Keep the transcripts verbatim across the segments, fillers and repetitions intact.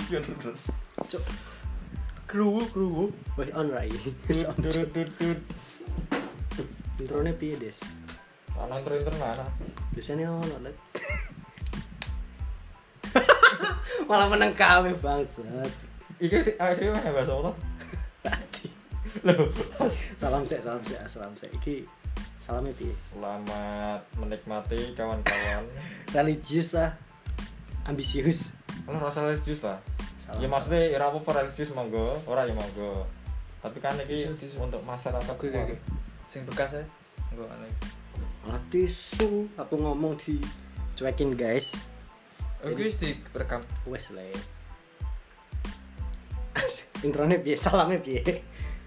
Yo terus. Cuk. Kru kru. Wes on rai. Wes on. Introne piye, Des? Ana intro-intro mana? Biasanya ono let. Malah meneng kawe bangsat. Iki sih akhirnya mah bahasa apa? Tadi. Loh. Salam sek, salam sek, salam sek. Iki salamnya piye? Selamat menikmati kawan-kawan. Religius lah. Ambisius. Ono rasa religius lah. Salam, Ya maksudnya ora apa-apa religius monggo, ora ya monggo. Tapi kan iki Tisu, tisu. untuk masyarakat Oke oke. Sing bekas ya. Enggak aneh. Malah tisu. Aku ngomong di cuekin guys. Oke wis direkam. Wes le. Introne piye? Salamnya piye?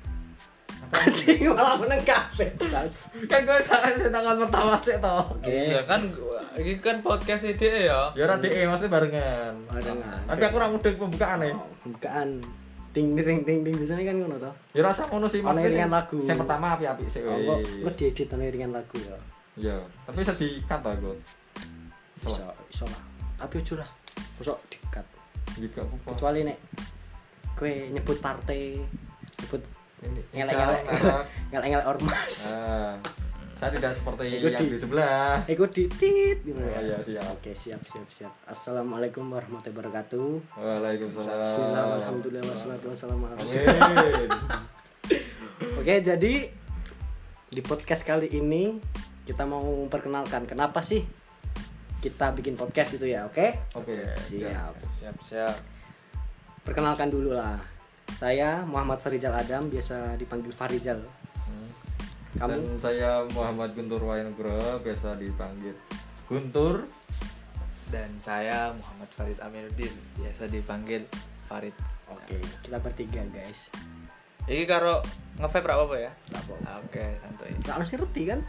Anjing malah meneng kabeh, Mas. Kan gue salah tangan pertama sih toh. Iya kan iki kan podcast ide ya. Ya ora dhek maksudnya barengan. Barengan. Tapi aku ora mudeng pembukaan ya. Bukaan ting ting ting ting biasanya kan ngono to. Ya rasa ngono sih Ono maksudnya. iringan sing- lagu. Sing pertama api-api sih. Oh, kok kok diedit ana iringan lagu ya. Iya, tapi bisa di-cut to, Got. Iso iso lah. Tapi ojo lah. Mosok dikat. Gitu apa. Kecuali nek kowe nyebut partai, nyebut Ini ngelek-ngelek merek. ngelek-ngelek ormas. Ah, saya tidak seperti Iku yang di- di sebelah. Iku ditit gitu Oh, ya. iya, siap. Oke, siap siap siap. Assalamualaikum warahmatullahi wabarakatuh. Waalaikumsalam. Bismillah, alhamdulillah, wassalatu wassalamu ala Amin. Oke, jadi di podcast kali ini kita mau memperkenalkan kenapa sih kita bikin podcast gitu ya, oke? Oke. Siap. Siap siap. Perkenalkan dulu lah. Saya Muhammad Farizal Adam, biasa dipanggil Farizal. Hmm. Kamu? Dan saya Muhammad Guntur Wayanugroho, biasa dipanggil Guntur. Dan saya Muhammad Farid Aminuddin, biasa dipanggil Farid. Oke, kita bertiga guys. Iki karo nge-vape ra apa ya? Nggak apa-apa. Ah, Oke, santuy. Gak harus ngerti kan?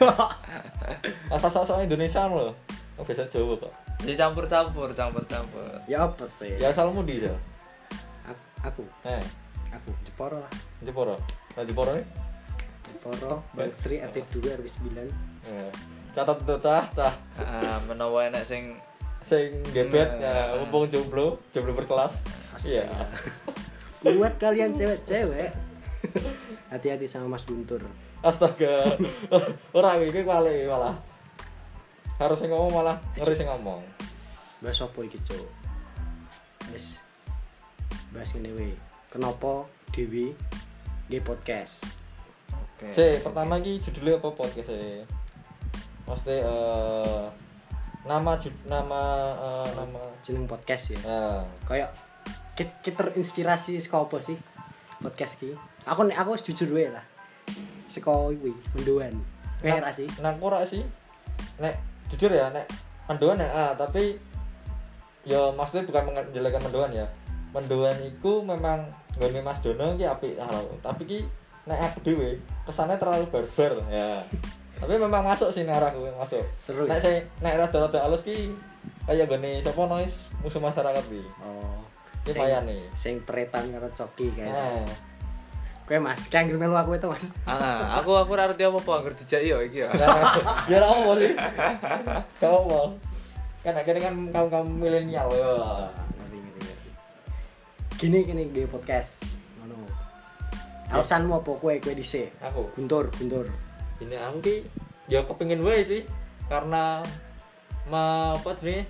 Asal sok Indonesia loh. Oh, biasa Jawa kok. Jadi campur-campur, campur-campur. Ya apa sih? Ya asalmu di ya. Aku, Eh, aku Jeporo lah. Jeporo. Nah, Jeporo nih. Jeporo, Bang Sri R T dua R W sembilan. Eh, catat tuh cah, cah. Heeh, menawa enek sing Sing gebet Nah. ya, mumpung jomblo, jomblo berkelas. Iya. Buat kalian cewek-cewek, hati-hati sama Mas Guntur. Astaga. Ora iki kwale malah. Harus sing ngomong malah ngeri sing ngomong. Bahas apa iki, Cuk? Wis. Bahas ngene we. Kenapa Dewi nge podcast? Oke. Si, pertama iki judulnya apa podcast e? Maksudnya eh nama jud- nama eh, nama Jeneng podcast ya. nah, Kayak kita, kita terinspirasi saka apa sih podcast ki? Aku nek aku wis jujur wae lah. Saka kuwi mendoan. Kowe ra sih? Nah, aku ora sih. Nek jujur ya, nek mendoan ya, ah, tapi ya maksudnya bukan menjelekkan mendoan ya. Mendoan iku memang nggone Mas Dono iki apik hal. Tapi ki nek aku dhewe kesannya terlalu barbar ya. Tapi memang masuk sih nek arahku masuk. Seru. Nek Ya? saya nek rada-rada alus ki kaya gone sapa noise musuh masyarakat ki. Oh. Ki Sing- payane. Sing tretan karo coki kae. Nah, Kowe Mas, kayak anggere melu aku itu Mas. Ah, aku aku ora ngerti apa-apa anggere dijak yo iki ya. ya ora apa sih. Gak apa. Kan akhirnya kan kaum-kaum milenial ya. Ngerti ngerti ngerti. Gini gini gue podcast. Ngono. Alasanmu apa kowe kowe dhisik? Aku Guntur, Guntur. ini aku ki ya kepengin wae sih karena ma apa sih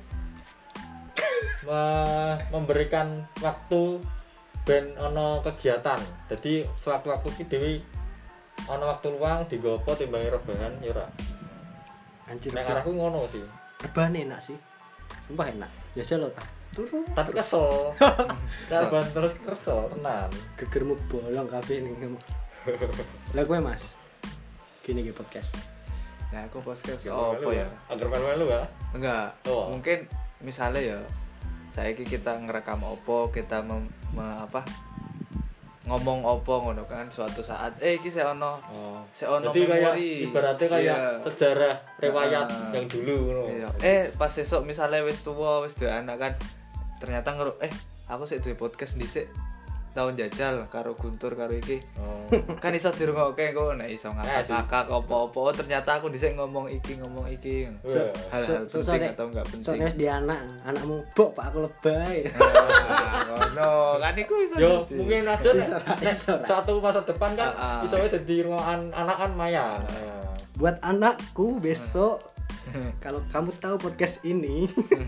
ma, memberikan waktu ben ono kegiatan. Jadi sewaktu-waktu ki dhewe ono waktu luang digopo timbangi rebahan ya ora. Anjir. Nek arahku ngono sih. Rebahan enak sih. Sumpah enak. Biasa lo tak. Turu. Tapi kesel. Rebahan terus kesel tenan. Gegermu bolong kabeh ning kamu. Lah kowe Mas. Gini gue podcast. Nah, aku podcast apa ya? Agar melu-melu ya. Enggak. Oh. Mungkin misalnya ya saiki kita ngerekam opo, kita mem, me- apa? Ngomong opo ngono kan suatu saat eh iki sik ono Oh. sik ono Jadi kayak memori. ibaratnya kayak Iya. sejarah riwayat Ah. yang dulu ngono. Iya. Eh pas esok misalnya wis tuwa wis duwe anak kan ternyata ngeru eh aku sik duwe podcast dhisik tau njajal karo Guntur karo iki. Oh. Kan iso dirungokke kok nek iso Eh, sih. ngakak-ngakak apa-apa. Oh, ternyata aku dhisik ngomong iki ngomong iki. Wah. Hal-hal So- so- penting soalnya- atau enggak penting. Soalnya wis di anak, anakmu bok Pak aku lebay. Ah, ngono. Kan iku iso. Yo dadi. mungkin aja nek, Bisa, nek bisa. suatu masa depan kan Ah, ah. iso wae dadi ruangan anak kan Maya. Buat anakku besok kalau kamu tahu podcast ini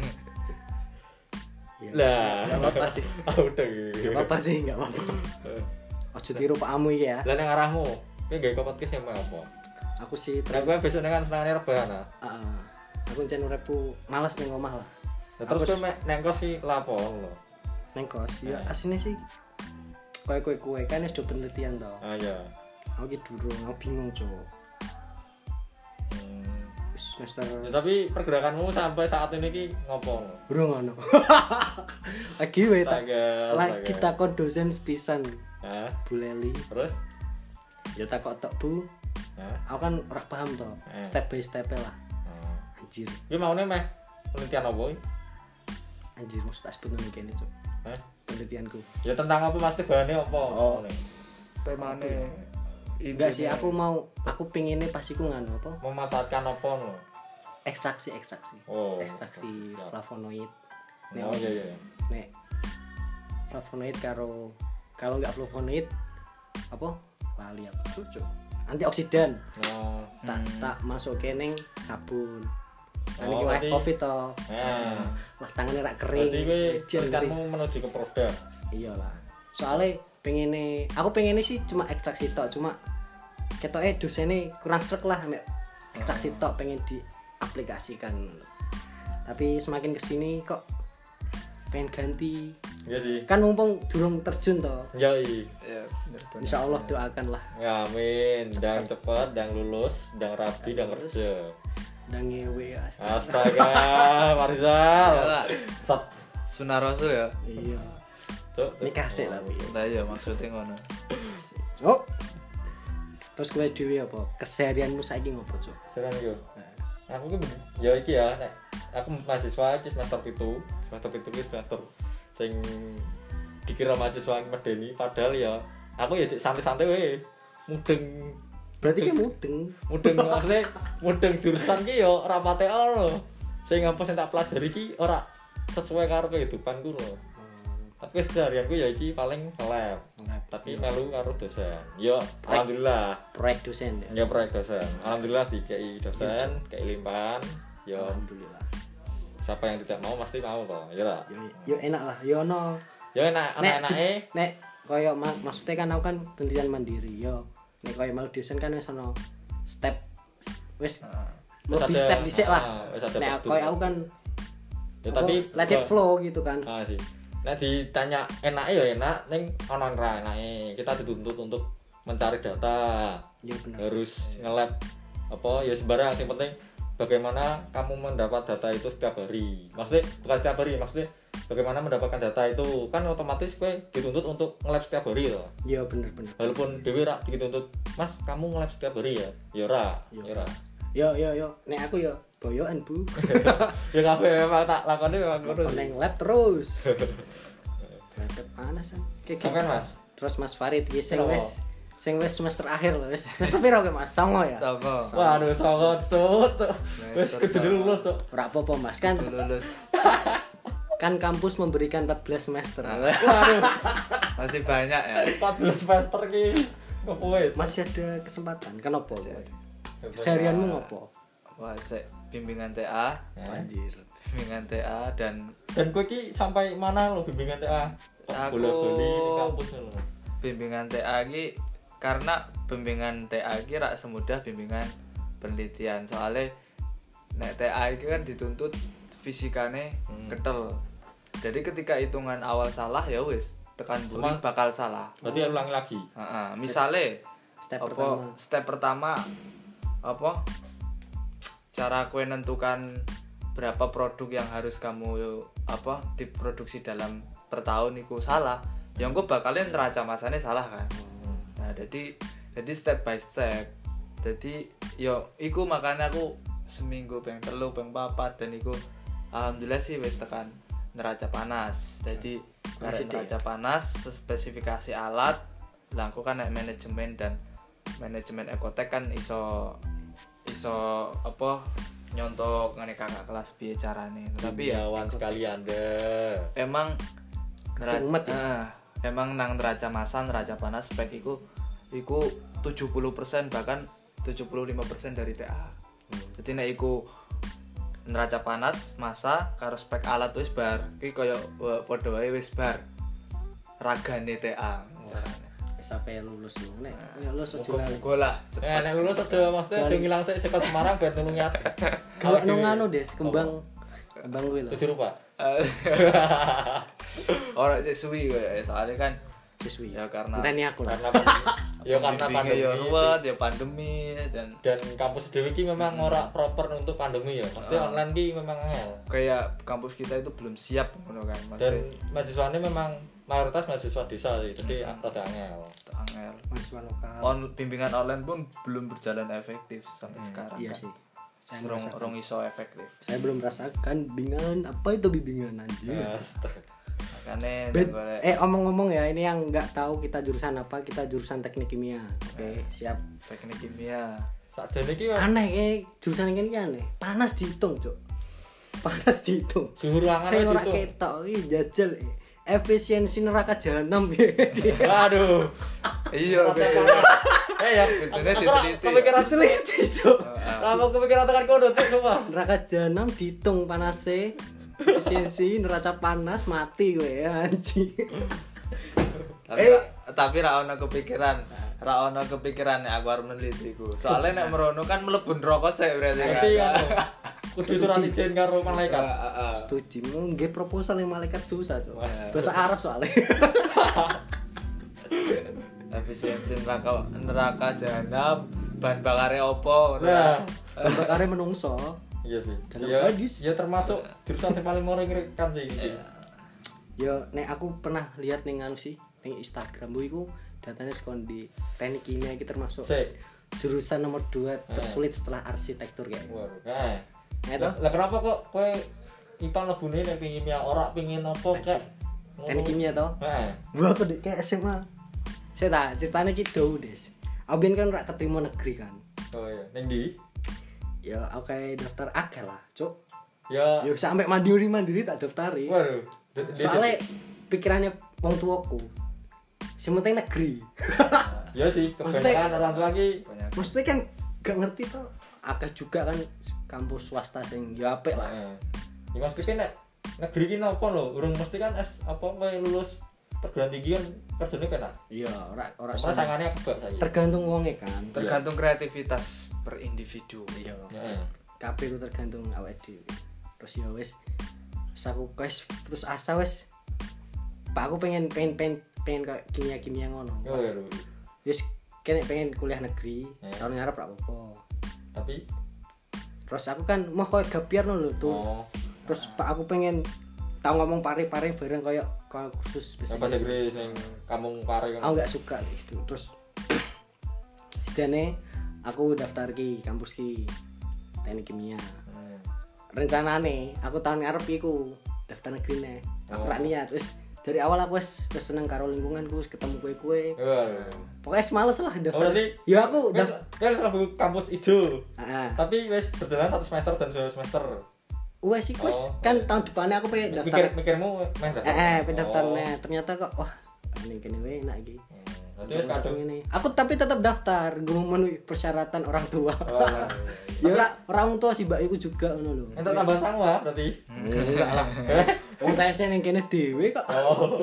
ya, Lah, nggak apa-apa sih. Ah udah. Nggak apa-apa sih, nggak apa-apa. Ojo tiru pakmu iki ya. Lah nang arahmu, kowe gawe podcast yang apa? Aku sih Nek ter- kowe besok dengan senengane rebahan. ah. Ah, aku ncen uripku malas ning omah lah. Lah, terus Aku kowe mek neng kos iki lapo lho. Neng kos ya Eh. asine sih kowe kowe kowe kan wis do penelitian to. Ah ya. Aku ki durung, aku bingung cowok. Hmm. Wis semester Ya, tapi pergerakanmu sampai saat ini ki ngopo? durung ngono. Lagi wae tak Astaga, lagi astaga. takon dosen sepisan Hah? Bu Leli. Terus? Ya takok tok Bu, Hah? aku kan ora paham to. Eh. Step by step lah. Oh. Anjir, Ki maune meh penelitian apa iki? anjir mesti tak sebut nang kene, Cuk. Hah? Penelitianku. Ya tentang apa pasti bahannya apa? Oh. temane Enggak sih, intinya- aku mau aku pengennya pas iku nganu apa? Memanfaatkan apa lho? Ekstraksi ekstraksi. Oh. Ekstraksi Siap. flavonoid. Oh iya iya. Nek flavonoid karo kalau nggak flavonoid apa? Lali aku cucu. Antioksidan. Oh. Tak Hmm. tak masukin ning sabun. Kan Oh, iki wae berarti- covid to. Nah. Lah tangannya rak kering. Berarti kowe Jen, kering. tulisanmu menuju ke produk. Iyalah. Soalnya pengen aku pengen sih cuma ekstraksi tok, cuma ketoke dosennya kurang srek lah mek ekstraksi tok pengen diaplikasikan. Tapi semakin kesini kok pengen ganti. Iya sih. Kan mumpung durung terjun toh. Ya iya. Ya, bener-bener. Insya Allah doakan lah. Ya, amin. Dang cepet, dang lulus, dang rapi, dang Lulus. kerja. Dan ngewe astaga. Astaga, Marizal. Iyalah. Sat. Sunah Rasul ya. Iya. Cuk, cuk. Nikah sih tapi. Nah ya maksudnya ngono. Oh. Terus kowe dhewe apa? Keseharianmu saiki ngopo, Cuk? Serang yo. Aku ki ben- ya iki ya, nek aku mahasiswa iki semester pitu, semester pitu ki semester sing dikira mahasiswa medeni padahal ya aku ya cek santai-santai wae. Mudeng Berarti ki mudeng. mudeng maksudnya mudeng jurusan ki ya ora pate ono. Sing apa sing tak pelajari ki ora sesuai karo kehidupanku lho. Tapi seharianku ya iki paling lab. Tapi melu karo dosen. Yo, alhamdulillah. Proyek dosen ya. Ya proyek dosen. Alhamdulillah dikei dosen, kei limpahan. Yo, Alhamdulillah. siapa yang tidak mau pasti mau toh. Ya lah. Yo, yo enak lah, yo ono. Ya enak Nek anak-anake. nek koyo ma- maksudnya kan aku kan penelitian mandiri yo. Nek koyo mau dosen kan wis ono step wis Wis lebih ada- step dhisik lah. ah, wis ada Nek prosedur. koyo aku kan Ya apa, tapi let it flow gitu kan. Ah sih. Nek ditanya enak ya enak, ning ono ora enake. Kita dituntut untuk mencari data. Yo bener. Harus nge-lab apa ya sembarang yang penting bagaimana kamu mendapat data itu setiap hari. Maksudnya bukan setiap hari, maksudnya bagaimana mendapatkan data itu kan otomatis kowe dituntut untuk nge-lab setiap hari loh. Yo bener bener. Walaupun dhewe rak dituntut, "Mas, kamu nge-lab setiap hari ya?" Ya ora, Yo. ya ora. Yo yo yo, nek aku yo boyoan, Bu. Ya kabeh memang tak lakoni memang ngono. Neng lab terus. Lab panas kan. Kayak gitu. Sampean, Mas. Terus Mas Farid iki sing Kenapa? wis sing wis semester akhir lho, wis semester piro ke Mas? Songo ya? Sapa? Waduh, songo cuk. cuk. Wis Semester kudu lulus, Cuk. Ora apa-apa Mas, kan Kudu lulus. kan kampus memberikan empat belas semester. Waduh, Masih banyak ya. empat belas semester ki. Ngopo wae? Masih ada kesempatan. Kenapa? Keseharianmu ngopo? Wah, sik bimbingan T A, Ya. Anjir. bimbingan T A dan Dan kowe ki sampai mana lo bimbingan T A? Aku- Bola-boli di kampus lho. bimbingan T A iki karena bimbingan T A iki rak semudah bimbingan penelitian. Soalnya nek T A iki kan dituntut fisikane Hmm. ketel. Jadi ketika hitungan awal salah ya wis tekan buri Cuma- bakal salah. Berarti ulangi lagi. Heeh, misale Step apa pertama. step pertama apa cara kue nentukan berapa produk yang harus kamu apa diproduksi dalam per tahun itu salah yang gue bakalin neraca masanya salah kan. Nah jadi jadi step by step jadi yo iku makanya aku seminggu peng telu peng papat dan iku alhamdulillah sih wis tekan neraca panas. Jadi karena Masih neraca panas spesifikasi alat lah aku kan nek manajemen dan manajemen ekotek kan iso iso apa nyontok ngene kakak kelas piye carane. Tapi ya Yawan sekali Anda. emang neraca Umet ya? eh, emang nang neraca massa neraca panas spek iku iku tujuh puluh persen bahkan tujuh puluh lima persen dari T A. Jadi nek iku neraca panas massa karo spek alat wis bar. Iki koyo padha wae wis bar. Ragane T A. sampai lulus lu nek ya lulus aja lah. Muga-muga lah Eh cepet. nek lulus aja maksudnya aja ngilang sik saka Semarang ben nulung nyat. Gawe nang anu Des, kembang kembang kuwi lho. Tujuh rupa. Ora sik suwi koyo soalnya kan Siswi. ya karena Enteni aku lah. Karena pandemi. Ya karena bimbingnya pandemi. ya ruwet ya pandemi dan Dan kampus dewe ki memang ora proper untuk pandemi ya. Maksudnya Ah. online ki memang angel. kayak kampus kita itu belum siap ngono kan Dan maksudnya mahasiswanya memang mayoritas mahasiswa desa sih. Jadi rada angel. angel. Mahasiswa lokal. On bimbingan online pun belum berjalan efektif sampai sekarang. Iya kan. sih. Saya Rong, merasakan. rong iso efektif. Saya belum merasakan bimbingan apa itu bimbingan anjir. Astaga. Makanya Bet- golek eh omong-ngomong ya ini yang nggak tahu kita jurusan apa, kita jurusan teknik kimia. Oke, siap. teknik kimia. Sakjane ki memang Aneh kayak jurusan ini ki aneh. Panas dihitung, Cuk. Panas dihitung. suhu ruangan Saya ora gitu. ketok iki jajal eh. efisiensi neraka jahanam ya. Aduh. Iya, Rata betul. panas. Eh ya, Betulnya aku ora diteliti. kepikiran Teliti, Cuk. Apa kepikiran tekan kono tuh semua. Neraka jahanam dihitung panasnya. Efisiensi neraca panas mati gue ya anjing. Tapi tapi ra ono kepikiran, ra ono kepikiran nek aku arep meneliti iku. Soale nek merono kan mlebu neraka sik berarti kan. Berarti kan kudu surat izin karo malaikat. Heeh. Setuju, mau nge proposal yang malaikat susah tuh. Bahasa Arab soalnya. Efisiensi neraka neraka jahanam bahan bakare opo ngono. Nah, Bakarnya menungso. iya sih. Dalam Ya, hadis. ya termasuk jurusan yang paling murah kan sih. Ya nek aku pernah lihat ning anu sih, ning Instagram bu iku datanya sekon di teknik kimia iki termasuk Sik. jurusan nomor dua tersulit setelah arsitektur kayak. Waduh. Nah. Ya Lah toh? lah kenapa kok kowe I P A lebune nek pengin kimia ora pengin apa kek? Teknik kimia toh? Heeh. Gua aku di kayak S M A. Saya tak ceritanya gitu Des. Aku biyen kan ora keterima negeri kan. Oh iya, ning ndi? Ya aku kayak daftar akeh lah, Cuk. Ya. Ya sampai mandiri mandiri tak daftari. Waduh. D- d- Soalnya pikirannya wong tuaku. Sing penting negeri. Ya sih, Maksudnya- kebanyakan orang tua ki Banyak. Maksudnya kan gak ngerti tuh. Akeh juga kan kampus swasta sing ya apik lah. heeh. Ya Mas Pikin nek negeri ki napa lho? Urung mesti kan S apa kowe lulus perguruan tinggi kan kerjane penak. Iya, ora ora Ora semua. sangane kebak saiki. Tergantung wonge kan. Tergantung kreativitas per individu. Iya. Heeh. Kabeh ku tergantung awake dhewe. Terus ya wis wis aku wis putus asa wis. Pak aku pengen pengen pengen, pengen kayak kimia-kimia ngono. Oh ya lho. Wis kene pengen kuliah negeri, Hmm. tahun ngarep ra apa-apa. Tapi Terus aku kan mau koyo gapiar lho tuh. oh, Terus Pak aku pengen tau ngomong pare-pare bareng koyo koyo khusus bahasa bahasa Inggris ning kampung Pare Aku kan. nggak suka gitu. Terus sedane aku daftar ki kampus ki teknik kimia. Hmm. Rencanane aku tahun ngarep iku daftar negeri nih. Aku Oh. rak niat wis dari awal aku wis wis seneng karo lingkunganku, wis ketemu kue-kue. Waduh. Pokoknya wis males lah Oh daftar. berarti Ya aku wis daftar. wis lagu kampus ijo. Heeh. Tapi wis berjalan satu semester dan dua semester. Wes sih wis Oh. kan tahun depannya aku pengen Mikir daftar. mikirmu meh daftar. Eh, eh pengen daftar Oh. nih. Ternyata kok wah ini kene wae enak iki. Hmm. Berarti wis kadung. Ini. Aku tapi tetap daftar, gue memenuhi persyaratan orang tua. Oh, Ya ora orang tua sih mbak iku juga ngono lho. Entuk tambahan sangwa berarti. Enggak lah. Wong tesnya ning kene dhewe kok. Oh.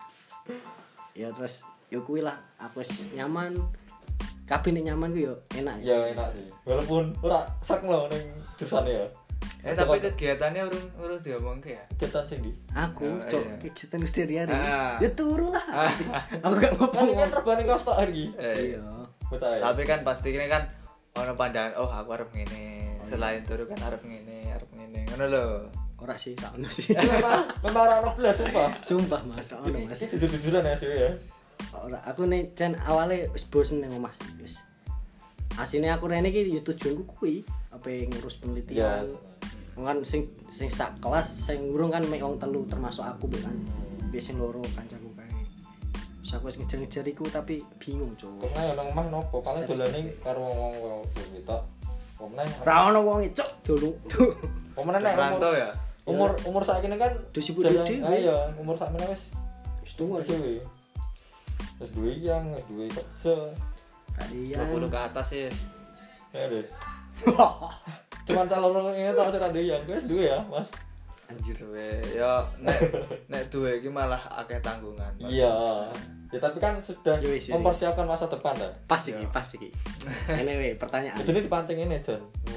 Ya terus yo kuwi lah, aku wis nyaman. Kabeh nek nyaman ku yo enak Ya enak sih. Walaupun ora sek lho ning jurusan ya. Eh tapi kegiatannya urung urung diomongke ya. Kegiatan sing di. Aku Oh, cok iya. kegiatan sehari-hari. Ah. Ya turu lah. Aku gak Kan ini kan ngomong. terbanding kos tok iki. Eh, Iya. Betul. tapi kan pasti ini kan ono pandangan oh aku arep ngene. Selain turu kan arep ngene, arep ngene. Ngono lho. Ora sih, tak ono sih. Memang memang ora ono blas sumpah. Sumpah Mas, tak ono Mas. Iki jujur-jujuran ya dhewe ya. Ora, aku nek jan awale wis bosen nang omah sih, wis. Asine aku rene iki yo tujuanku kuwi, apa ngurus Ya. penelitian. kan sing sing sak kelas sing urung kan mek wong telu termasuk aku be kan. Wis sing loro kancaku kae. Wis aku wis ngejar-ngejar iku tapi bingung, Cuk. Kok nang nang omah nopo? Paling dolane karo wong-wong kita. Omah Ra ono wong Cuk dulu. Omah nek Rantau ya. umur umur saiki kan Wis sibuk jalan- dhewe. Ah, iya, umur sakmene wis Wis tuwa, Cuk. dhewe. Wis duwe yang, wis duwe kerja. Kalian. dua puluh ke atas sih. Ya deh. Cuman calon ini tau sira duwe yang, wis duwe ya, Mas. Anjir. Duwe ya nek nek duwe iki malah akeh tanggungan. Iya. Ya tapi kan sudah Ya wis, ya mempersiapkan masa depan dah. Pas iki, pas iki. Anyway, pertanyaan. Itu ini dipancing ini, Jon.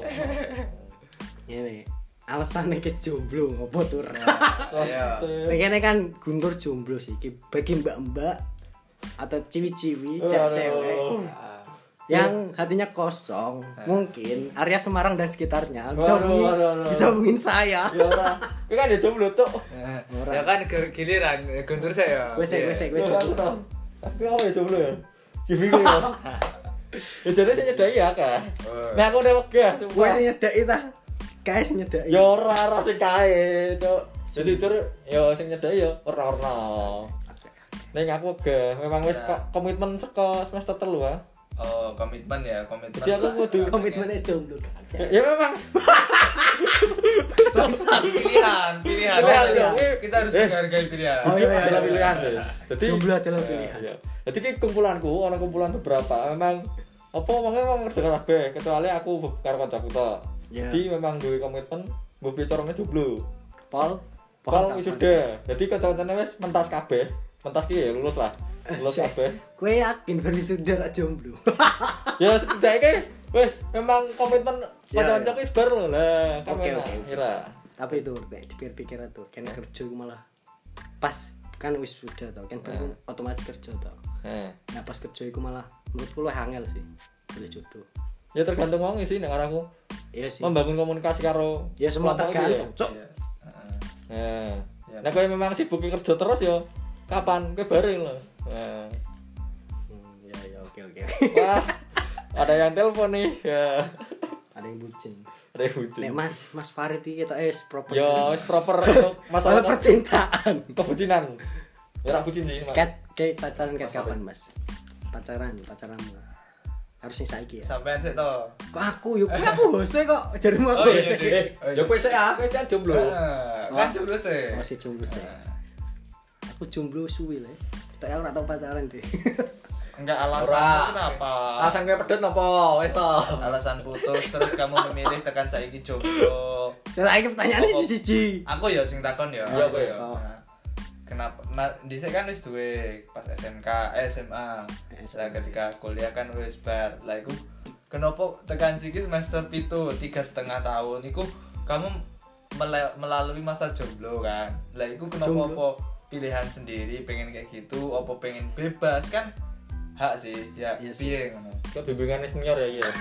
Ini alasannya ke jomblo ngopo tur. Iya. Pengennya kan Guntur jomblo sih, ki bagi mbak-mbak atau ciwi-ciwi, cewek-cewek Ah, yang hatinya kosong, mungkin area Semarang dan sekitarnya bisa Waduh, hubungin, waduh, waduh. bisa hubungin saya. Ya ora. Kowe kan dia jomblo, Cuk. Ora. ya kan ger- giliran Guntur saya. Gue sih, gue sih, gue Aku jomblo. tau. Aku apa ya jomblo ya? Gimik ya. Ya jadi saya nyedaki ya, Kak. Oh. Nah, aku udah wegah, Gue sumpah. nyedaki ta, kayak sih nyedaki. Ya ora ora sing kae, Cuk. Jadi tur ya sing nyedaki ya ora-ora. Ning aku wegah, memang wis Ya. kok komitmen saka semester telu ah. Oh, komitmen ya, komitmen. Jadi aku kudu Komitmennya jomblo. Ya, ya memang pilihan, pilihan. Pilihan, Kita- ya. Kita harus Eh. menghargai pilihan. Oh, hidup iya, adalah iya, pilihan, iya. Des. Jadi Jomblo adalah ya, pilihan. ya. Jadi ki kumpulanku, ana kumpulan beberapa memang apa memang memang ngerjakan kabeh kecuali aku karo kancaku tok. Ya. Jadi memang duwe komitmen mbok bicarane jomblo. Pol, Pol kapan? wisuda. Jadi kanca-kancane wis mentas kabeh. Mentas ki ya lulus lah. Lulus Asik. kabeh. Gue yakin baru sudah gak jomblo. Ya setidaknya wis memang komitmen Ya, kanca-kancaku wis bar lho lah. Kan Oke, enak, oke, oke. kira. Tapi itu Nek, dipikir-pikir tuh kene kerja iku malah pas kan wis sudah tau kan baru otomatis kerja tau. Nah, Nah pas kerja iku malah menurutku lu angel sih boleh jodoh. ya tergantung wong sih nek aku Iya sih. membangun komunikasi karo Ya semua kelompok iki tergantung. ya. Cok. Iya. Heeh. Nah, Ya. nah kowe memang sibuk kerja terus ya. Kapan kowe bareng lho. Nah. Hmm, ya ya oke oke. Wah, ada yang telepon nih. Ya. Ada yang bucin. Ada yang bucin. Nek Mas Mas Farid iki kita es proper. Ya, wis proper untuk masalah Masalah percintaan. kebucinan. Ya ora bucin sih. Mas. Sket kayak pacaran kayak Mas kapan Mas? Pacaran, pacaranmu. Harus sing saiki ya. Sampean sik to. Kok aku yuk aku hose kok jarimu Oh, aku iya, hose. iya. Eh, ya kowe sik ah, kowe kan jomblo. Heeh. Kan jomblo sih. Masih jomblo sih. Aku jomblo suwi lah. Tak ora tau pacaran deh. Enggak alasan Ora. kenapa? Alasan kowe pedot napa? Wis to. Alasan putus terus kamu memilih tekan saiki jomblo. Dan lagi pertanyaannya Oh, oh. siji. Aku ya sing takon ya. Iya, aku ya. Oh. Nah, kenapa nah, dhisik kan wis duwe pas S M K, eh, S M A. Lah ketika kuliah kan wis bar. Lah iku kenapa tekan siki semester pitu, tiga setengah tahun iku kamu mele- melalui masa jomblo kan. Lah iku kenapa Jomblo. apa pilihan sendiri pengen kayak gitu, apa pengen bebas kan hak sih. Ya Iya sih. piye ngono. Kok bimbingan senior ya iki ya.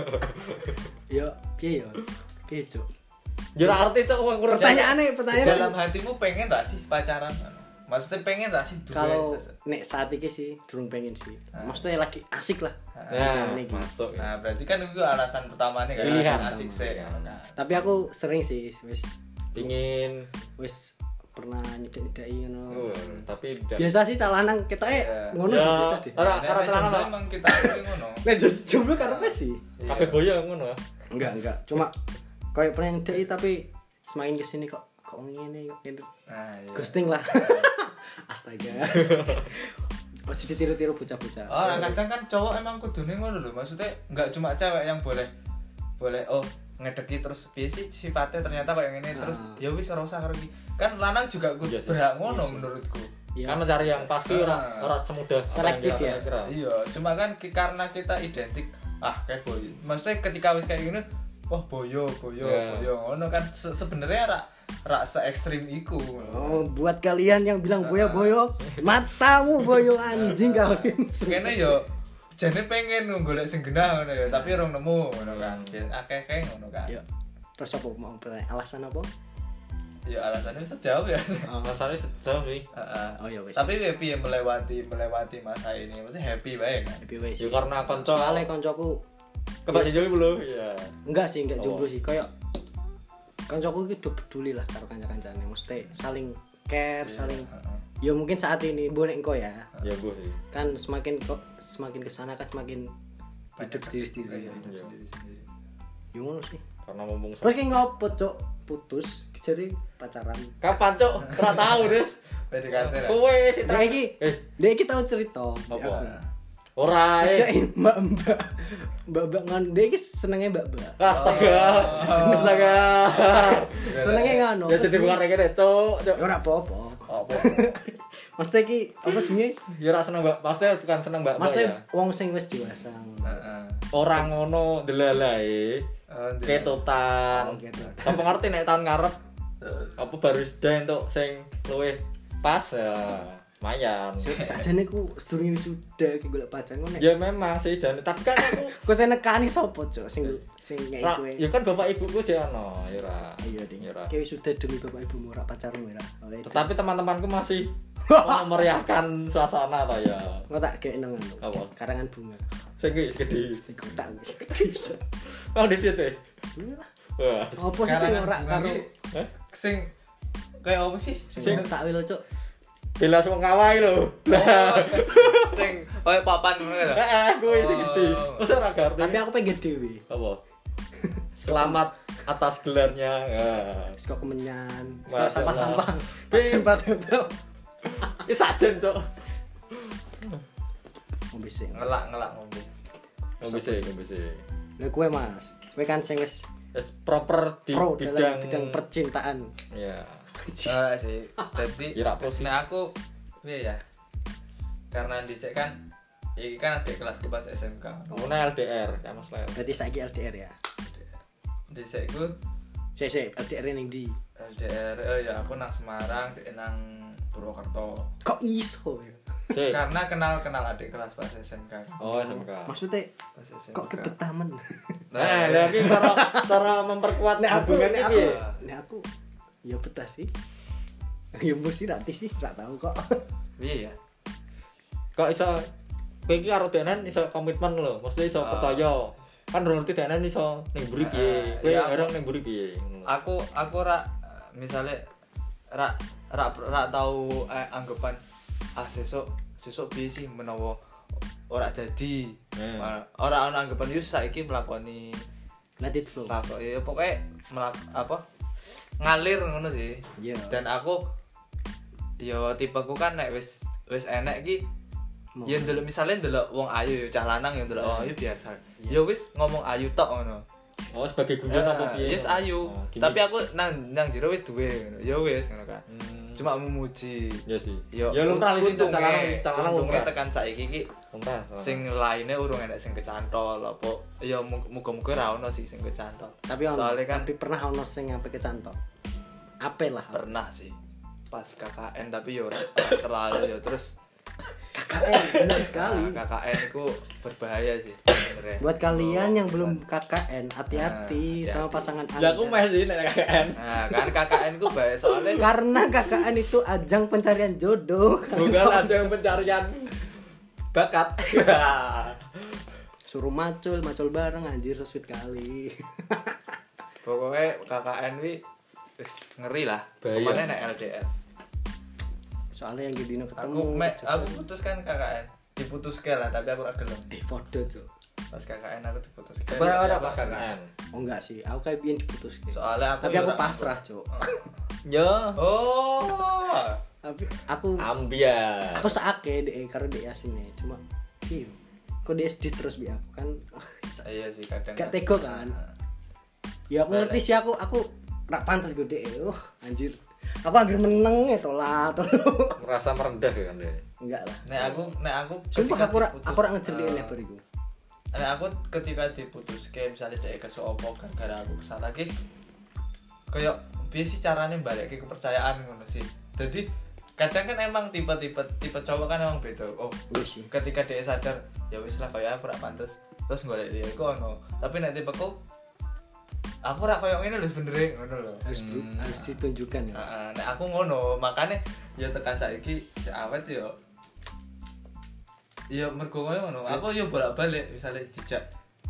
Yo, piye yo? Piye, Cuk? Ya ora arti cok wong kurang. Pertanyaannya, pertanyaan Dalam hatimu pengen gak sih pacaran? Maksudnya pengen gak sih duwe? kalau nek saat ini sih durung pengen sih. Maksudnya lagi asik lah. Ya, Ini, gitu. masuk ya. Nah, berarti kan itu alasan pertamanya kan Pilihan alasan asik pertama. sih kan. Tapi aku sering sih wis Pingin wis pernah nyedek-nyedeki ngono. uh, tapi tidak. Biasa sih cah lanang kita eh Iya. ngono Ya. biasa deh. Ora Nek- ora nek tenan jomblo kok. emang kita ini ngono. Nek just jomblo karepe sih. Kabeh boyo ngono. Enggak, enggak. Cuma kayak pernah nyedeki tapi semakin kesini kok kok ngene kok gitu. Nah, iya. Ghosting lah. Astaga. Masih ditiru-tiru bocah-bocah. Oh, nah, kadang kan cowok emang kudune ngono lho. Maksudnya enggak cuma cewek yang boleh boleh oh ngedeki terus piye sih sifatnya ternyata kayak ngene terus Ah. ya wis ora usah karo iki. Kan lanang juga kudu Iya sih. berhak ngono Iya sih. menurutku. Iya. Kan mencari yang pasti ora ora semudah apa Selektif yang ya. kira-kira. Iya, cuma kan ki- karena kita identik ah kayak boyo. Maksudnya ketika wis kayak gini, wah boyo, boyo, Yeah. boyo ngono kan se- sebenarnya rak rak se ekstrim iku. Oh, buat kalian yang bilang boyo-boyo, matamu boyo anjing kalian. Kene yo jane pengen golek sing genah ngono ya, tapi ora nemu ngono kan. Akeh-akeh ngono kan. Yo. Terus apa mau pertanyaan alasan apa? Ya alasannya bisa jawab ya. Masalahnya sejauh sih. Heeh. Oh ya wis. Tapi ya piye melewati melewati masa ini, maksudnya happy bae kan. Happy wis. Ya karena kanca Soalnya koncoku kebak jomblo belum? Iya. enggak sih, enggak jomblo sih. Kayak kancaku iki do peduli lah karo kanca-kancane mesti saling care Iya, saling heeh. ya mungkin saat ini bu nek engko ya Ya Bu sih. kan semakin kok semakin kesana kan semakin hidup sendiri sendiri Iya, hidup Iya. sendiri-sendiri. ya ngono sih Karena mumpung terus ki ngopo cok putus jadi pacaran kapan cuk? Ora tahu, Des. P D K T lah. Kowe sih dia iki Eh, dia iki tau cerita apa? Ora Ada eh. mbak mbak mbak mbak ngan dia iki senenge mbak mbak Astaga. Seneng. Astaga. senenge ngono Ya jadi bukan kayak gini, cuk. Cuk. ya ora apa-apa Apa? maksudnya ki apa sih Ya ora seneng Mbak. Maksudnya bukan seneng Mbak. maksudnya ya. wong sing wis dewasa Heeh. Orang ngono delalae. Oh, ndi. Ketutan. Oh, gitu. Apa ngerti nek tahun ngarep apa baru sudah entuk sing luwih pas ya lumayan. sajane ku sedurunge wisuda ki golek pacar ngono Ya memang sih jane, tapi kan aku kok saya nekani sapa cok sing sing ngeki ra, kowe ya kan bapak ibuku sih ono, ya ora. iya ding Ya ora. kowe sudah demi bapak ibumu ora pacarmu ora Tetapi teman-temanku masih memeriahkan suasana ta ya. engko tak gek nang anu Apa? karangan bunga Sing iki gede. sing kotak gede Oh, dicet e. Wah. apa sih sing ora Karangan karo bunga Hah? Sing kayak apa sih? sing tak wilo cok Bela sing kawai lho. Oh, sing koyo papan ngono lho. Heeh, kuwi sing gede. Oh. Wes ora ngerti. tapi aku pengen dhewe apa? Selamat atas gelarnya. Ya. wis kok kemenyan Masya Allah. sampah-sampah Pi- tempel-tempel Iki sajen, Cuk. ngombe sing Ngelak-ngelak ngombe. Ngombe sih, ngombe sih. lha kowe Mas kowe kan sing wis Wis proper di pro bidang dalam bidang percintaan ya. Ora sih. Dadi Ya, ra pro sih. nek aku piye ya? Karena dhisik kan iki kan adik kelasku pas S M K. Ngono L D R, ya Mas Leo. berarti saiki L D R ya Dhisik ku sik sik L D R ning ndi L D R oh ya aku nang Semarang, dhek nang Purwokerto. kok iso ya Sik. Karena kenal-kenal adik kelas pas S M K. Oh, S M K. maksudnya Pas S M K. kok kebetamen Nah, lha iki cara cara memperkuat nek aku hubungan nek iki. aku nek aku ya betah sih ya mesti nanti sih gak tahu kok Piye ya? Kok iso kowe iki karo denen iso komitmen lho, mesti iso Ah. percaya. Kan ngerti denen iso ning mburi piye. Ah, Kowe iya. orang ning mburi piye. Aku aku ra misale ra ra ra tau eh, anggapan ah sesuk sesuk piye sih menawa ora dadi. Hmm. Ora ana anggapan yo saiki mlakoni let it flow lakon ya pokoke melak apa ngalir ngono sih. iya Dan aku yo tipeku kan nek wis wis enek ki Mau. ya ndelok misale ndelok wong ayu ya cah lanang ya ndelok wong ayu biasa. Iya. Ya wis ngomong ayu tok ngono. Oh, sebagai guyon apa piye? Yes ayu. Oh, gini. Tapi aku nang nang jero wis duwe ngono. Ya wis ngono kan. Hmm. Cuma memuji. ya sih. Yo, Ya lumrah wis itu untungnya- calanang calanang untungnya lumrah. tekan saiki ki Lumrah. sing lainnya urung enek sing kecantol apa ya mu- muga-muga ra ono sih sing kecantol. tapi ono soalnya kan tapi pernah ono sing sampai kecantol apel lah pernah sih pas K K N tapi yo ora ora terlalu ya terus K K N benar sekali nah, K K N itu berbahaya sih sebenarnya. buat kalian yang belum K K N hati-hati Nah, sama hati-hati. pasangan Ya aku Anda meh sih nek K K N. Nah, kan K K N ku bahaya soalnya karena K K N itu ajang pencarian jodoh Bukan aja yang pencarian bakat. suruh macul macul bareng anjir so sweet kali pokoknya K K N wi wis ngeri lah. Bahaya. Kemana nek L D R. soalnya yang gini ketemu Aku me, cepet. aku putus kan K K N. Diputuske lah tapi aku ora gelem. eh podo tuh Pas K K N aku diputuske. Berapa pas K K N? oh enggak sih aku kayak biar diputus gitu Soalnya aku tapi aku ora- pasrah cok Ya. Oh. tapi aku Ambiar. aku seake deh karena dia aslinya cuma iya kok dia sedih terus bi aku kan Iya sih kadang. gak tego kan ya aku ngerti sih aku aku rak pantas gue deh uh anjir aku akhir meneng ya tolak tolak Merasa merendah kan deh. enggak lah Nek aku nek aku sumpah ketika aku rak diputus, aku rak ngejeliin eh, ya bariku Nek aku ketika diputuske misalnya dhek kesopo gara-gara aku kesal lagi kayak piye sih carane balikke kepercayaan ngono sih. Jadi kadang kan emang tipe-tipe tipe cowok kan emang beda. Oh, wis sih ketika dia sadar ya wis lah kayak aku ora pantes terus golek dia iku ono tapi nek tipeku aku ora koyo ngene lho sebenere ngono lho harus bro, Hmm. harus ditunjukkan ya Heeh, nek aku ngono makanya ya tekan saiki si awet yo ya mergo koyo ngono aku yo bolak-balik misalnya dijak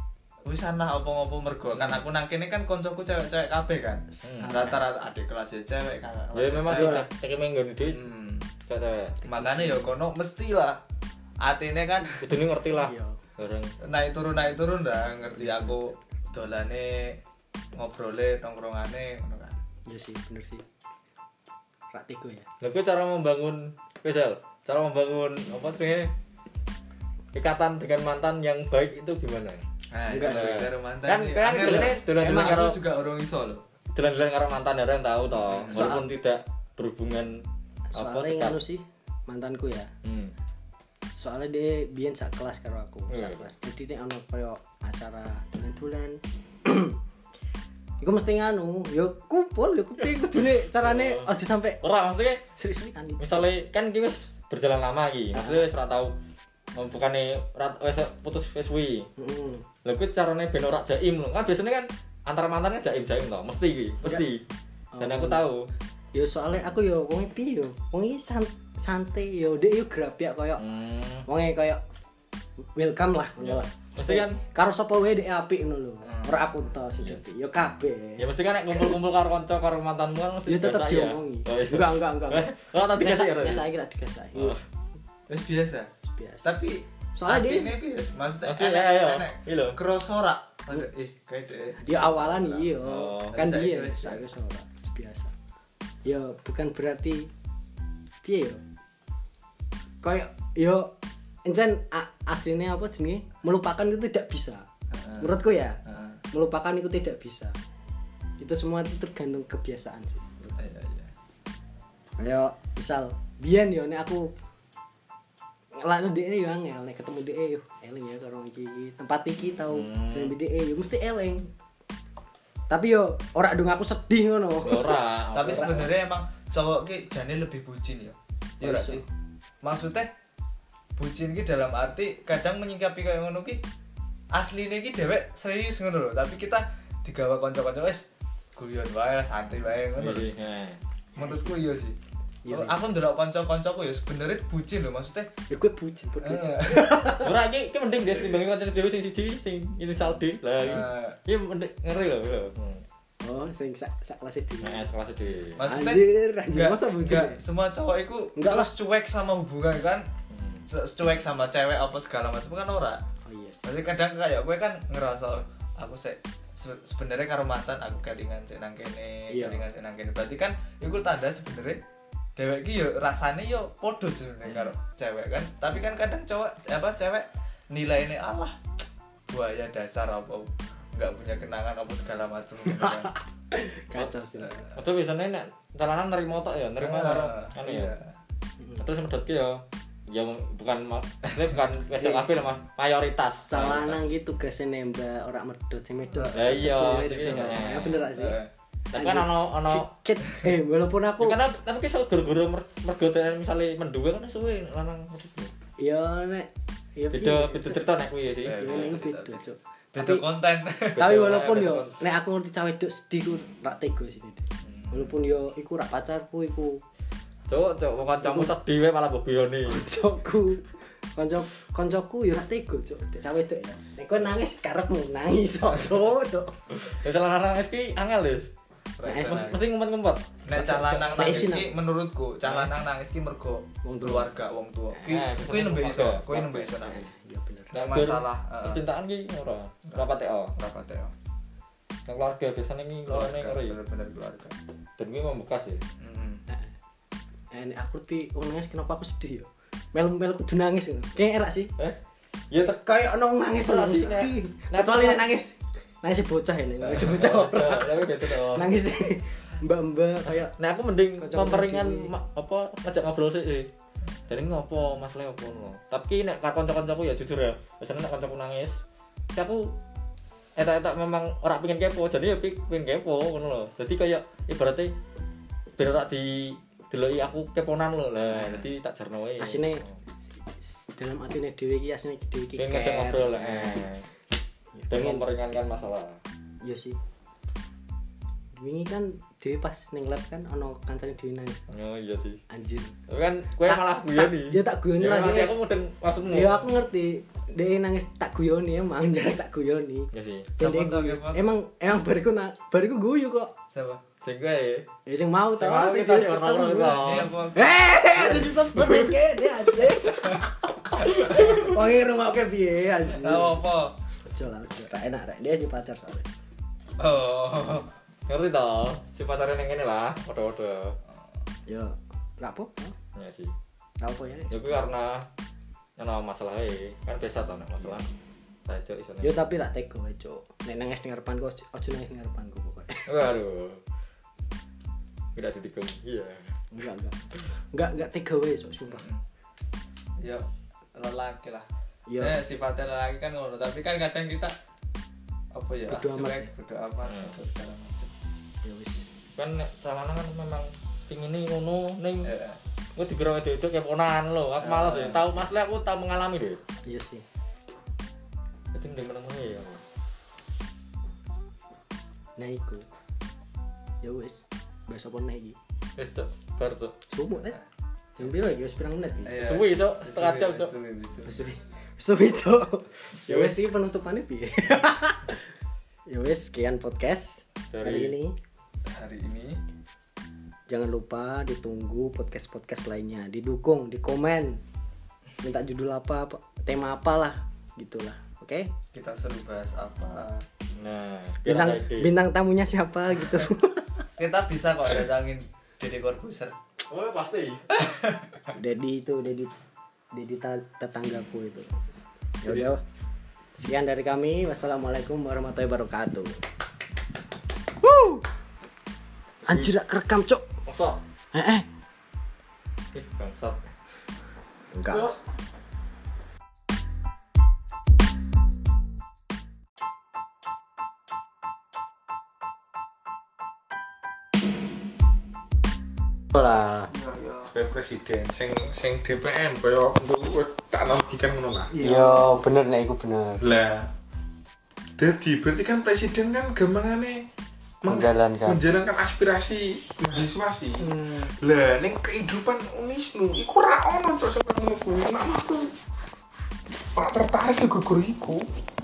wis ana opo-opo mergo kan aku nang kene kan koncoku cewek-cewek kabeh kan. Hmm. Rata-rata adik kelas ya cewek kan. Ya memang sih cek menggoni duit. Hmm. Cewek. Makane ya kono mestilah atine kan Kudune ngerti lah. Iya. Bareng. naik turun naik turun dah ngerti aku dolane ngobrole tongkrongane ngono kan. Iya sih, bener sih. Praktiku ya. Lha kuwi cara membangun Kesel, cara membangun apa namanya? Ikatan dengan mantan yang baik itu gimana? Nah, Enggak itu sih. karo mantan Kan ini. kan Angel dolane loh. dolan-dolan Emang karo Aku juga orang iso loh. dolan-dolan karo mantan ya yang tahu toh, walaupun Soal- tidak berhubungan apa Soalnya tetap. nganu sih mantanku ya. Hmm. Soalnya dia biyen sak kelas karo aku, sak Hmm. kelas. Jadi nek ono koyo acara dolan-dolan iku mesti nganu, yo kumpul, yo kupi kudune carane Oh. aja sampe Ora maksudnya serik-serikan iki. misalnya kan iki wis berjalan lama iki, maksudnya wis ora tau bukannya rat wis putus wis suwi. Heeh. Lha kuwi carane ben ora jaim lho. Kan biasanya kan antara mantannya jaim-jaim toh, mesti iki, mesti. Dan aku Oh. tahu. Yo soalnya aku yo wong piye yo? Wong iki san- santai yo, dek yo grabyak koyo Hmm. wonge koyo welcome lah, Ya. ngono lah. Mesti kan Karo sapa wae dek apik ngono lho. Hmm. Ora aku tok sing dadi. Yo kabeh. ya mesti kan nek kumpul-kumpul karo kanca karo mantanmu kan mesti Yo tetep biasa ya. diomongi. Oh, iya. Enggak, enggak, enggak. enggak. Oh, tadi Biasa kasih ya. biasa iki tak digasai. Oh. Wis biasa. Biasa. Tapi Soalnya dia- ini piye? Maksudnya Oke, enek ya, ya. enek. Iya lho. Kroso ora? Maksud eh kayak deh. Ya awalan iya, Oh. kan Tapi dia saiki wis saya ora biasa. Ya bukan berarti piye yo. Kayak yo encen a- aslinya apa jenenge melupakan itu tidak bisa. Heeh. Menurutku ya, Heeh. melupakan itu tidak bisa. Itu semua itu tergantung kebiasaan sih. Iya iya. Kayak misal biyen yo nek aku ngelakno dhek yo angel nek ketemu dhek yo eling ya karo iki tempat iki tau Hmm. dan dhek yo mesti eling. Tapi yo ora dong aku sedih ngono. Ora. Tapi sebenarnya emang cowok ki jane lebih bucin ya. Ya ora Iso. sih. Maksudnya bucin ki dalam arti kadang menyikapi kayak ngono ki asline ki dhewek serius ngono lho, tapi kita digawa kanca-kanca wis guyon wae lah, santai wae ngono lho. Iya. Menurutku iya sih. Iya. Oh, aku ndelok kanca-kancaku ya sebenarnya bucin lho, maksudnya Ya gue bucin bodoh. eh, Ora iki iki mending dia timbangin kanca dhewe sing siji sing inisial D. Lah iki. eh, Iki mending ngeri lho. lho. Hmm. Oh, sing sak sak kelas iki. Nah, sekelas D. maksudnya Anjir, anjir, nggak- masa bucin nggak ya? semua cowok itu Nggak terus cuek sama hubungan kan, Hmm. Se- cuek sama cewek apa segala macam kan ora. Oh iya. sih. Maksudnya kadang kayak gue kan ngerasa aku se se- sebenarnya karo mantan aku kelingan cek nang kene, Iya. kelingan cek nang kene. Berarti kan iku tanda sebenarnya dewek ki yo rasane yo podo sebenarnya karo cewek kan. Tapi kan kadang cowok apa cewek nilainya Allah buaya dasar apa nggak punya kenangan apa segala macam gitu kan. Kacau sih. Atau biasanya nek calanan nerima tok ya, nerima karo Ah, anu iya. ya. Terus medhotke ya. Ya bukan ma- maksudnya bukan wedok kabeh lah, Mas. Mayoritas. Calanang gitu tugasnya nembak ora medhot sing medhot. Ya iya, Bener, sih, bener. iya. Ya bener gak sih? Eh, Tapi kan ono ono Kit, eh walaupun aku karena tapi kisah guru-guru mergo misalnya menduwe kan suwe lanang medhot. ya nek ya Beda piye, beda Cuk. cerita nek kuwi ya sih. Iya. Ya, ini beda, Cuk. beda Tapi- konten. Tapi Beda, walaupun beda yo kon- nek aku ngerti cawe wedok sedih ku rak tega sih Dede. Walaupun yo iku rak pacarku iku Cuk, cuk wong kancamu sedih wae malah mbok guyoni. koncoku. Kanca kancaku yo rak tega, Cuk. Dek cawe wedok ya. Nek kowe nangis karepmu nangis kok, Cuk. Cuk. Ya salah lanang iki angel lho. Nah, Mesti ngumpet-ngumpet. nek cah lanang Nek nangis isin ki menurutku cah lanang nangis ki mergo Wong tua. keluarga wong tua. Ki Eh, kuwi nembe iso, keluarga. kuwi nembe iso nangis. Ya bener. Nek masalah heeh. Percintaan ki ora. Ora pateo. Berapa teh? Nek keluarga biasanya ki ngene ngeri. Bener-bener keluarga. Dan ki membekas ya. Heeh. Eh nek aku ngerti wong nangis kenapa aku sedih yo. Melu-melu kudu nangis ngono. Kayak erak sih. Eh? Ya tek Kayak ono nangis Ora terus sih, Nek. sedih. Nek- Kecuali nek nangis. Nangis bocah ini, nangis bocah. Tapi gitu toh. Nangis mbak-mbak kayak Nah aku mending Kocok memperingan kocok ma- apa ngajak ngobrol sih sih. Dari ngopo masalah opo ngono. Tapi nek kanca-kancaku ya jujur ya, biasanya nek kancaku nangis, ya aku etak-etak memang ora pengen kepo, jadi ya pi- pengen kepo ngono lho. Jadi kayak ibaratnya ben ora di deloki aku keponan lho. Lah, jadi tak jarno wae. Asine dalam atine dhewe iki asine dhewe iki pengen ngajak care. ngobrol lah. Eh. Dan memperingankan masalah. Iya sih. Wingi kan dhewe pas ning lab kan ono kancane dhewe nangis. Oh iya sih. Anjir. Tapi kan kowe malah guyoni. Ya tak guyoni Ya, lah, masih Dek. aku mudeng maksudmu. Ya aku ngerti. dia nangis tak guyoni emang jarang tak guyoni. Ya sih. Dan dia Siapa tuh, guyu. siapa? Emang emang bariku na bariku guyu kok. Siapa? Sing kowe. Ya sing mau Sing tau mau sing kita dia sing ketemu. orang-orang itu. Ini apa? Eh, itu disebut iki dia anjing. Wong iki rungokke piye anjing. Tahu apa? Ojo lah, ojo. Ra enak rek. Dia aja pacar soalnya. Oh. Ngerti toh? Si pacarnya yang ini lah, waduh-waduh. Yo, ra apa? Ya sih. Ra apa ya? Ya kuwi karena ana masalah e. Kan biasa toh nek masalah. Saja isone. Yo tapi ra tega wae, Cuk. Nek nangis ning ngarepanku ojo nangis ning ngarepanku pokoke. Waduh. Tidak ditikung. Iya. Enggak, enggak. Enggak, enggak tega wae, Cuk, sumpah. Ya lelaki lah. Iya. Saya sifatnya lelaki kan ngono, tapi kan kadang kita apa ya? Bodo amat. Cuek, bodo amat Hmm. atau segala macam. Ya wis. Kan nek celana kan memang pingin ngono ning Eh, gue dikira itu itu kayak ponakan lo. Aku malas ya. Tahu masalah aku tahu mengalami deh. Iya sih. Jadi mending meneng ya. Nah iku. Ya wis. Besok pun iki. Wis tuh, bar tuh. Sumuk kan? Jam piro iki wis pirang menit iki? iya. Suwi itu setengah jam tuh. Suwi, suwi. Wis suwi. Suwi itu. Ya wis iki penutupane piye? Ya wis sekian podcast Dari- hari ini. Hari ini Jangan lupa ditunggu podcast-podcast lainnya, didukung, di komen, minta judul apa, apa tema apalah, gitulah, oke? kita seru bahas apa? Nah, biar Bintang ada ide. bintang tamunya siapa gitu? Kita bisa kok datangin Deddy Corbuzier. Oh, pasti. Dedi itu, Dedi, Dedi ta- tetanggaku itu. Ya udah, sekian dari kami. Wassalamualaikum warahmatullahi wabarakatuh. Woo! Anjir, rak kerekam cok. Masa? Eh, eh. Ih, bangsat. Enggak. Lah. Sebagai presiden sing sing D P M kaya untuk tak analogikan ngono lah. Iya, bener nek iku bener. Lah dadi berarti kan presiden kan gampangane meng- Menjalankan. menjalankan aspirasi mahasiswa sih. Lah ning kehidupan Unisnu iku ora ono cok sampe ngono kuwi. Nek aku ora tertarik yo gugur iku.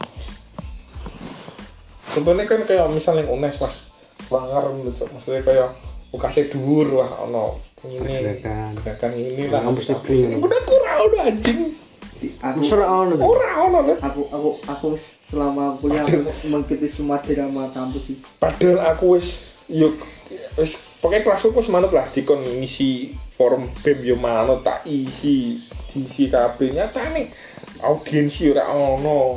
Contohnya kan kayak misalnya UNES mas Wangar cok maksudnya kayak U K S dhuwur wah ono ini Gerakan. gerakan ini lah Kampus negeri. ini udah kurang udah anjing aku Mesra ono. ora ono lah aku aku aku selama kuliah aku mengikuti semua drama kampus sih. padahal aku wis yuk wis pokoknya kelasku wis manut lah dikon ngisi forum B E M yo manut tak isi diisi kabeh nyatane audiensi ora ono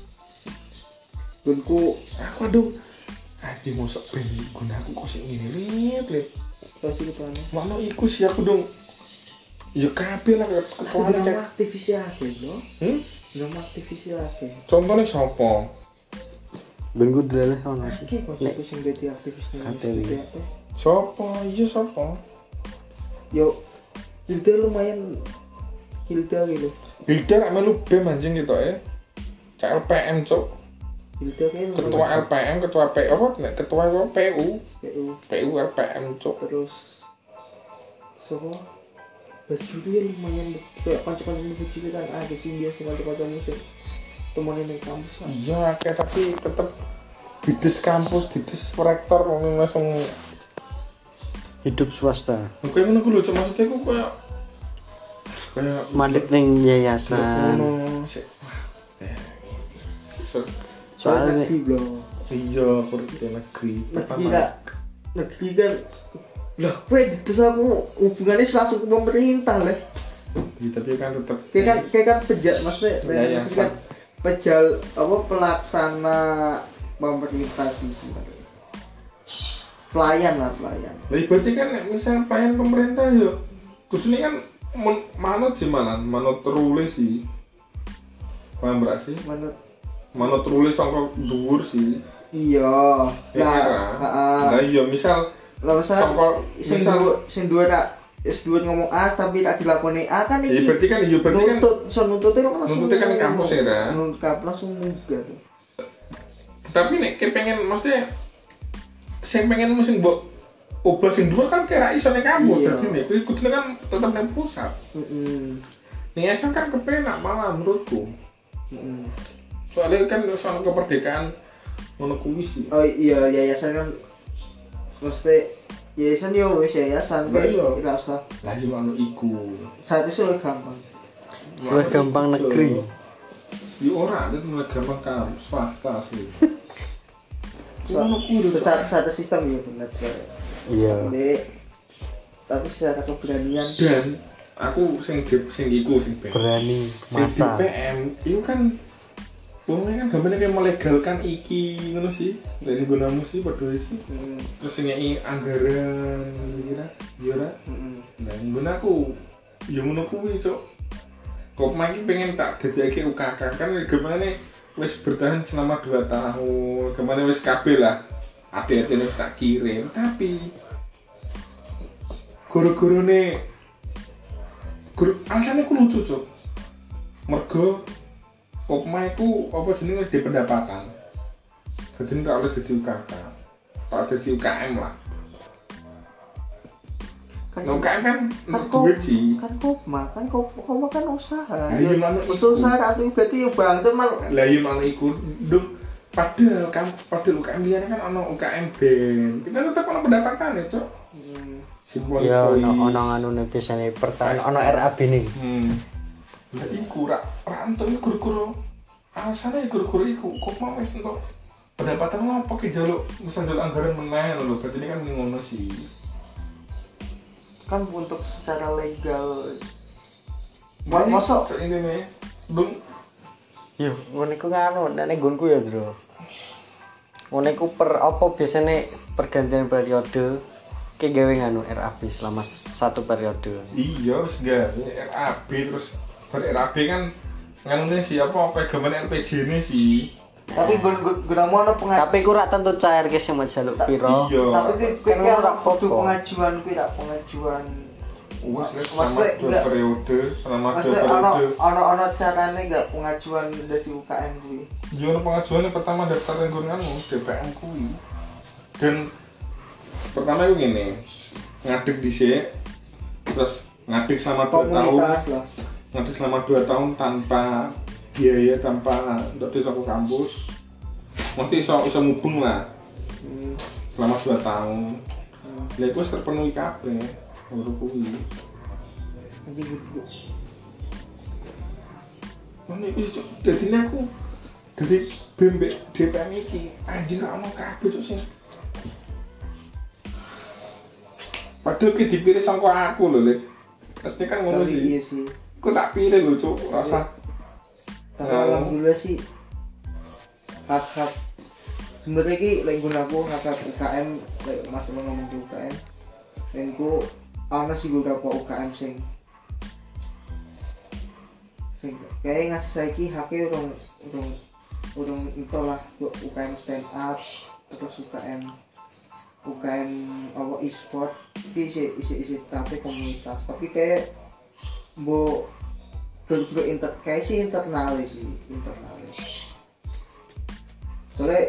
Gunku aku aduh anjing mosok ben gunaku kok sik ngene lit lit terus itu kan. makno iku sih aku dong ya kabeh lah ketuane Drama kayak aktivis ya no. hmm? Drama aktivis ya akeh. contohnya sapa Ben ku drele ono sih. Akeh kok aku sing dadi aktivis ning Kateli. D P R. sapa iya sapa Yo Hilda lumayan Hilda gitu. Hilda rak melu B E M anjing gitu ya C L P M cok Hilda kayak ketua L P M ketua P apa nek ketua apa P U P U P U L P M cok terus sopo baju dia lumayan kayak kanca-kanca baju kan ada sih dia sing kanca-kanca musik temenin ning kampus kan. iya kayak tapi tetep dides kampus dides rektor ngomong langsung Hidup swasta. kayak ngono ku lho cok maksudnya ku kayak kayak Mandek ning yayasan. ngono sik wah eh, so- Soalnya negeri belum. iya kerja negeri Negeri kan negeri kan lah kowe dites aku hubungannya langsung ke pemerintah lah. ya, tapi kan tetep Kayak kan kayak kan pejal maksudnya Ya, ya, negeri kan pejal apa pelaksana pemerintah sih sebenarnya. Pelayan lah pelayan. Lah berarti kan nek misal pelayan pemerintah yo kudune kan men- manut sih malah manut rule sih. Paham berak sih? Menurut Manut rule sangka dhuwur sih. iya. Ya Nah, kan? heeh. Lah iya misal Lah misal sangka sing misal dua sing dua tak S dua ngomong A tapi tak dilakoni A kan ya iki. berarti kan iya berarti kan nuntut, so nuntutnya kan langsung nuntutnya kan di kampus ya, kan? Nuntut kampus langsung munggah tuh. tapi nek kayak pengen maksudnya sing pengen mesti mbok ubah sing dhuwur kan kira iso ning kampus Iya. dadi nek kuwi kudune kan tetep ning pusat. Heeh. Ning S M kan kepenak malah menurutku. Mm. Soalnya kan soal kemerdekaan ngono kuwi sih. Oh iya yayasan kan mesti yayasan yo wis yayasan Lah iya. enggak usah. Lah yo anu iku. Saat itu lebih gampang. Lebih gampang negeri. Di ora itu mulai gampang kan swasta sih. Ngono kuwi satu satu sistem ya benar saya. Iya. Dek. Tapi secara keberanian Dan aku sing di- sing iku sing ben. Berani Sing di masa. P M itu kan wongnya kan gambarnya kayak melegalkan iki ngono sih. Dari gunamu sih padha sih. hmm. Terus nyai anggaran kira yo ora. Hmm. Nah, nggon aku yo ngono kuwi, Cuk. Kok iki pengen tak dadekake U K K kan gimana wis bertahan selama dua tahun. Kemana wis kabeh lah. Ade-ade wis tak kirim, tapi guru-gurune guru alasane ku lucu, Cuk. Mergo Kopma iku apa jenenge wis di pendapatan. Dadi ora oleh dadi U K K. Tak dadi U K M lah. Kan Nah, U K M kan kan duit sih. kan kopma kan kop kopma kan usaha. Lah, iya, mana usaha iku. usaha atau berarti ya bang itu mal Lah yo ana iku ndung padahal kan padahal U K M liyane kan ana U K M band. Itu kan tetep ana pendapatane, Cuk. hmm. Simple Ya boys. ono ono anune biasane pertahan ono R A B nih. Hmm. Lah iku ra ra entuk guru-guru. Alasane guru-guru iku kok mau wis entuk pendapatan ngopo ki njaluk wis njaluk anggaran meneh lho. Berarti ini kan ngono sih. Kan untuk secara legal Wah, mosok Cuk ini nih. Ndung Yo, ngono iku nganu nek nggonku ya, Bro. Ngono iku per apa biasane pergantian periode ki gawe nganu R A B selama satu periode. iya wis gawe R A B terus ber R A B kan nganune sih apa pegangan L P J ini sih. tapi gun gunamu ana pengajian Tapi ku rak tentu cair ki sing jaluk piro. Iya. tapi kuwi Kan kuwi ora ora apa-apa. kudu pengajuan kuwi tak pengajuan Wes wes Maksudnya selama dua enggak- periode, selama dua maksudnya ana periode. ana ana carane enggak pengajuan dari U K M kuwi Iya, ono pengajuan yang pertama daftar lingkunganmu D P M kuwi. Dan pertama itu gini, ngadeg dhisik, terus ngadeg selama dua tahun, komunitas lah ngadeg selama dua tahun tanpa biaya, tanpa untuk desa ke kampus. Nanti iso iso mubeng lah hmm. selama dua tahun. hmm. Ya itu wis terpenuhi kabeh. Ngono kuwi. Nanti gue Ini wis Cuk, dadine aku dari B M B D P M iki anjir ra ono kabeh Cuk sing. Padahal ki dipilih sangko aku lho, Lek. Pasti kan ngono tapi iya sih. sih Kok tak pilih lho, Cuk, rasa. tapi Nah. alhamdulillah sih hak-hak sebenarnya ki lek gunaku hak-hak U K M lek masalah ngomong di U K M dan ku ana sih beberapa U K M sing sing kayak ngasih saiki haknya urung urung urung itulah U K M stand up terus U K M U K M apa e-sport iki isi isi isi tapi komunitas tapi kayak bo bener inter kayak sih internal sih internal soalnya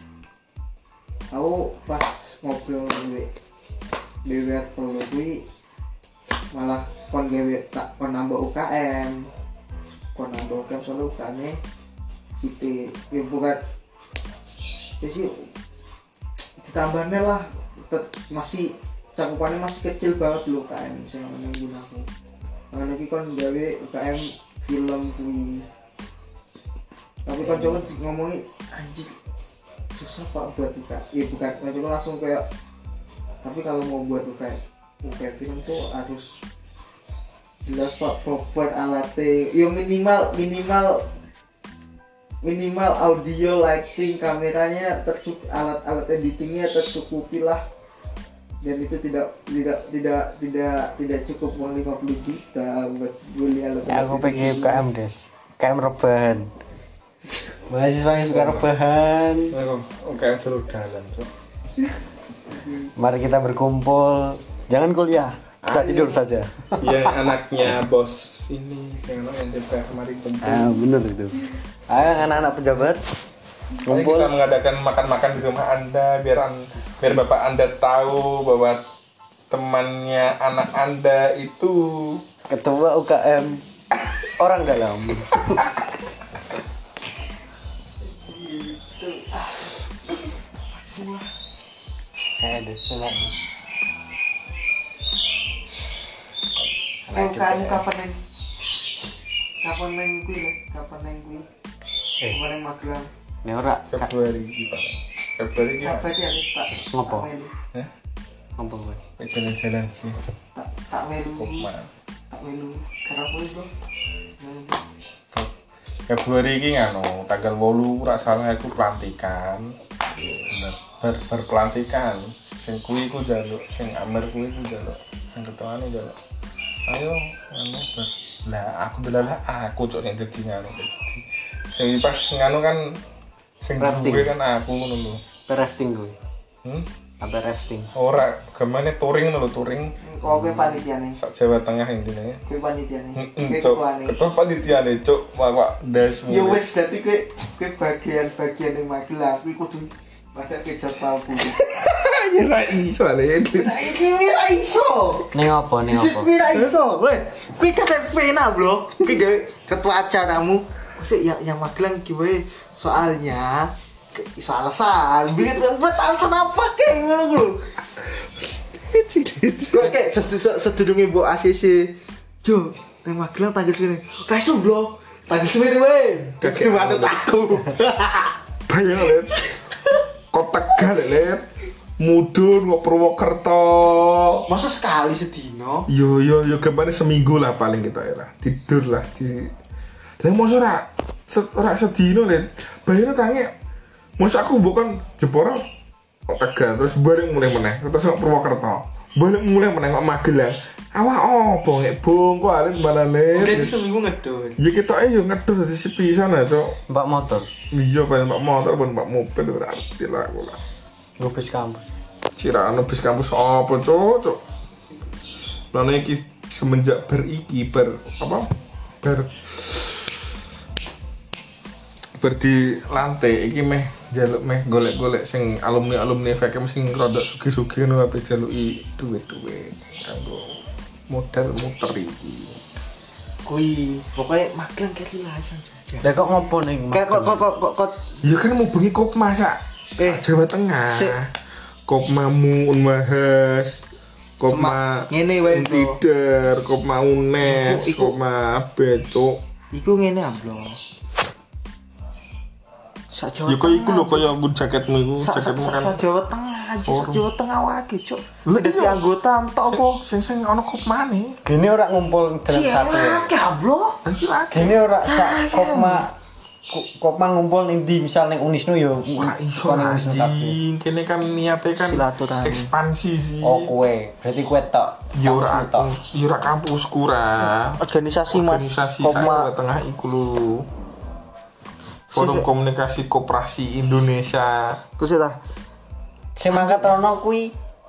aku pas ngobrol dewe dewe kalau gue malah kon gawe tak kon nambah U K M kon nambah U K M soalnya U K M nya gitu ya bukan ya sih ditambahnya lah tet- masih cakupannya masih kecil banget loh U K M saya ngomongin gunaku karena lagi kon gawe U K M film kuwi tapi kan coba ngomongin anjir susah pak buat U K M ya bukan kan coba langsung kayak tapi kalau mau buat U K M U K M film tuh harus jelas pak proper alatnya ya minimal minimal minimal audio lighting kameranya tercukup alat-alat editingnya tercukupi lah dan itu tidak tidak tidak tidak tidak cukup uang lima puluh juta buat beli alat Ya, aku pengen U K M, Des. U K M rebahan. Mahasiswa yang suka rebahan. U K M jalur dalan, Cuk. Mari kita berkumpul. Jangan kuliah. Kita Ayo. tidur saja. Yang anaknya bos ini yang namanya D P R mari kumpul. Ah, bener itu. Ayo anak-anak pejabat Ayo kumpul. kita mengadakan makan-makan di rumah Anda biar an- biar Bapak Anda tahu bahwa temannya anak Anda itu Ketua U K M orang dalam. Kayak ada sunat. Oh, kamu kapan neng? Kapan neng kuwi lho? Kapan neng kuwi? Eh. Kapan neng Magelang? Nek ora Kak, Februari iki Pak. Februari iki. Apa dia nih tak? Ngopo? tak melu. Hah? ngomong kowe. Jalan-jalan sih. Tak tak melu. Kopma. Tak melu. Karena kuwi lho. Februari iki ngono, tanggal wolu ora salah aku pelantikan. Bener. Ber berpelantikan. Sing kuwi ku njaluk, sing Amer kuwi ku njaluk. Sing ketuane njaluk. Ayo anu ber. Lah aku delalah aku cok nek dadi ngono. Sing pas ngono kan sing duwe kan aku ngono lho. Rafting gue. Hmm? Apa rafting? Ora, gamane touring ngono lho, touring. Kok kowe panitiane? Sak Jawa Tengah intine. Kowe panitiane. Heeh, Kowe cok. ketuane. Ketua panitiane, cok. Wak das. Ya wis berarti kowe kowe bagian-bagian ning Magelang kuwi kudu pada kejap palbu. Ya ra iso ale. Nah iki ora iso. Ning apa ning apa? Iki ora iso. Weh, kuwi kate pena, Bro. Kuwi gawe ketua acaramu. Sik ya yang Magelang iki wae soalnya iso alasan. Bikin buat alasan apa kayak ngono lho. Kok kayak sedurunge mbok A C C. Jo, nang Magelang tanggal segini. Ka iso, Bro. Tanggal segini wae. Dadi manut aku. Bayang let. Kok Tegal let. Mudun kok Purwokerto. Masa sekali sedino? Yo yo yo kemana seminggu lah paling kita ya lah. Tidur lah di. Lah mosok ora ora sedino let. Bayangno tange. Mosok aku bukan Jepara kok Tegal terus balik mulai meneh terus kok Purwokerto. Balik mulai meneh kok Magelang. Awak opo nek bongko alit malah let. Oke, itu seminggu ngedol. Ya kita eh yo ngedus dadi sepisan aja, Cok. Mbak motor, Iya, pengen mbak motor, pengen mbak mobil, berarti lah aku lah. ngopis kampus. Cirano bis kampus apa, Cok, Cok. Lalu iki semenjak beriki, ber, apa, ber, ber di lantai, iki meh, jaluk meh, golek-golek, sing alumni-alumni F K M sing rodok sugi-sugi, nu apa jaluki duit-duit, kanggo modal muter iki. Kui, pokoknya Magelang kayak lilasan. Lah kok ngopo ning? Kayak kok kok kok kok Ya kan mau bengi Kopma sak. Eh, Jawa Tengah. sik. Kopmamu Unmahas. Kopma Semak- ngene wae, Bro. Tider, Kopma Unes, Iku- Kopma Becok. iku ngene amblo. Sak Jawa. Ya kok iku lho kaya nggon jaketmu iku, sak sak jaketmu sak- sak kan. Jawa Tengah aja, sak Orang. Jawa Tengah wae, Cuk. Lah, Dadi iya. anggota entok apa? Sing sing ana Kopmane. Gini ora ngumpul dalam satu ya. Cilik amblo. Iki lagi. Gini ora sak kopma ko- kopma ngumpul ning di misal ning Unisnu yo. Ora iso kok ning Unisnu kabeh. anjing. Kene kan niate kan Silaturahmi. ekspansi sih. Oh kowe, berarti kowe tok. Ya ora Kampusmu tok. aku, ya ora kampusku ra. Organisasi Mas. Organisasi saya Jawa Tengah iku lho. Forum Komunikasi Koperasi Indonesia. Terus ta. Sing mangkat rono kuwi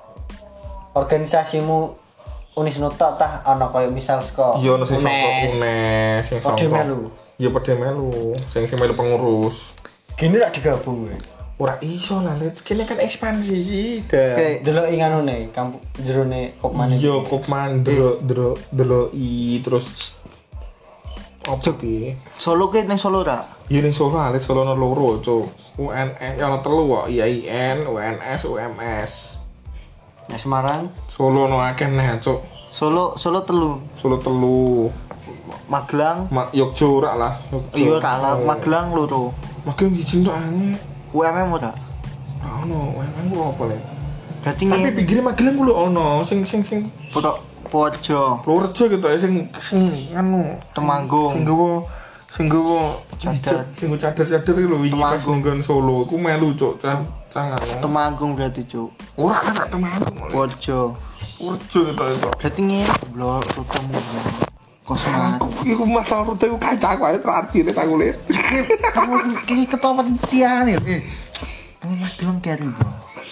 organisasimu Unisnu tok tah ana koyo misal saka Iya ono sing saka Unes. Unes, sing saka. Padha melu. Ya padha melu, sing sing melu pengurus. Gini rak digabung kowe. Ora iso lah, Let. Kene kan ekspansi sih, dah. Oke. Delok ing anune kampus jerone kopmane. Iya, Kopman delo delo deloki terus opo piye? Solo ke ning Solo ra? Ya ning Solo, Let Solo ono loro, Cuk. U N S ya ono telu kok, I A I N, U N S, U M S. Nah, Semarang Solo ono akeh neh, Cuk. Solo Solo telu. Solo telu. Magelang Ma Yogyo ora lah, Yogyo. iya kalah Magelang loro. Magelang siji tok aneh. U M M ora? Ora ono, emang ku apa, Let? Berarti Tapi ngene. pinggire Magelang ku lho ono, sing sing sing Foto Pojo. Purworejo gitu ya sing sing anu Temanggung. sing gowo sing gowo Cadar. sing gowo cadar-cadar iki lho wingi pas Temanggung. ninggon Solo ku melu cuk cah cah anu Temanggung berarti, Cuk. ora kan Temanggung Pojo. Purworejo gitu itu Berarti ngene, Bro, rutamu. Kosmat. aku iku masalah rute ku kancaku ae terakhir aku lihat Kamu kayak ketua penelitian ya. Eh. Kamu Magelang carry, Bro.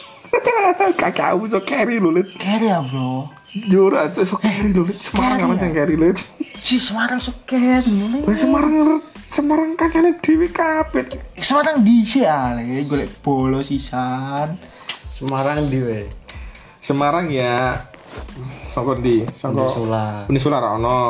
kakakmu so carry lho lihat Carry ya, Bro. jora cuk so carry lho lihat Semarang apa sing carry lihat Si Semarang so carry lho. Lah Semarang Semarang kancane dhewe kabeh Semarang dhisik ale golek bolo sisan. Semarang ndi we? Semarang ya saka ndi saka Unisula. Unisula ra ono.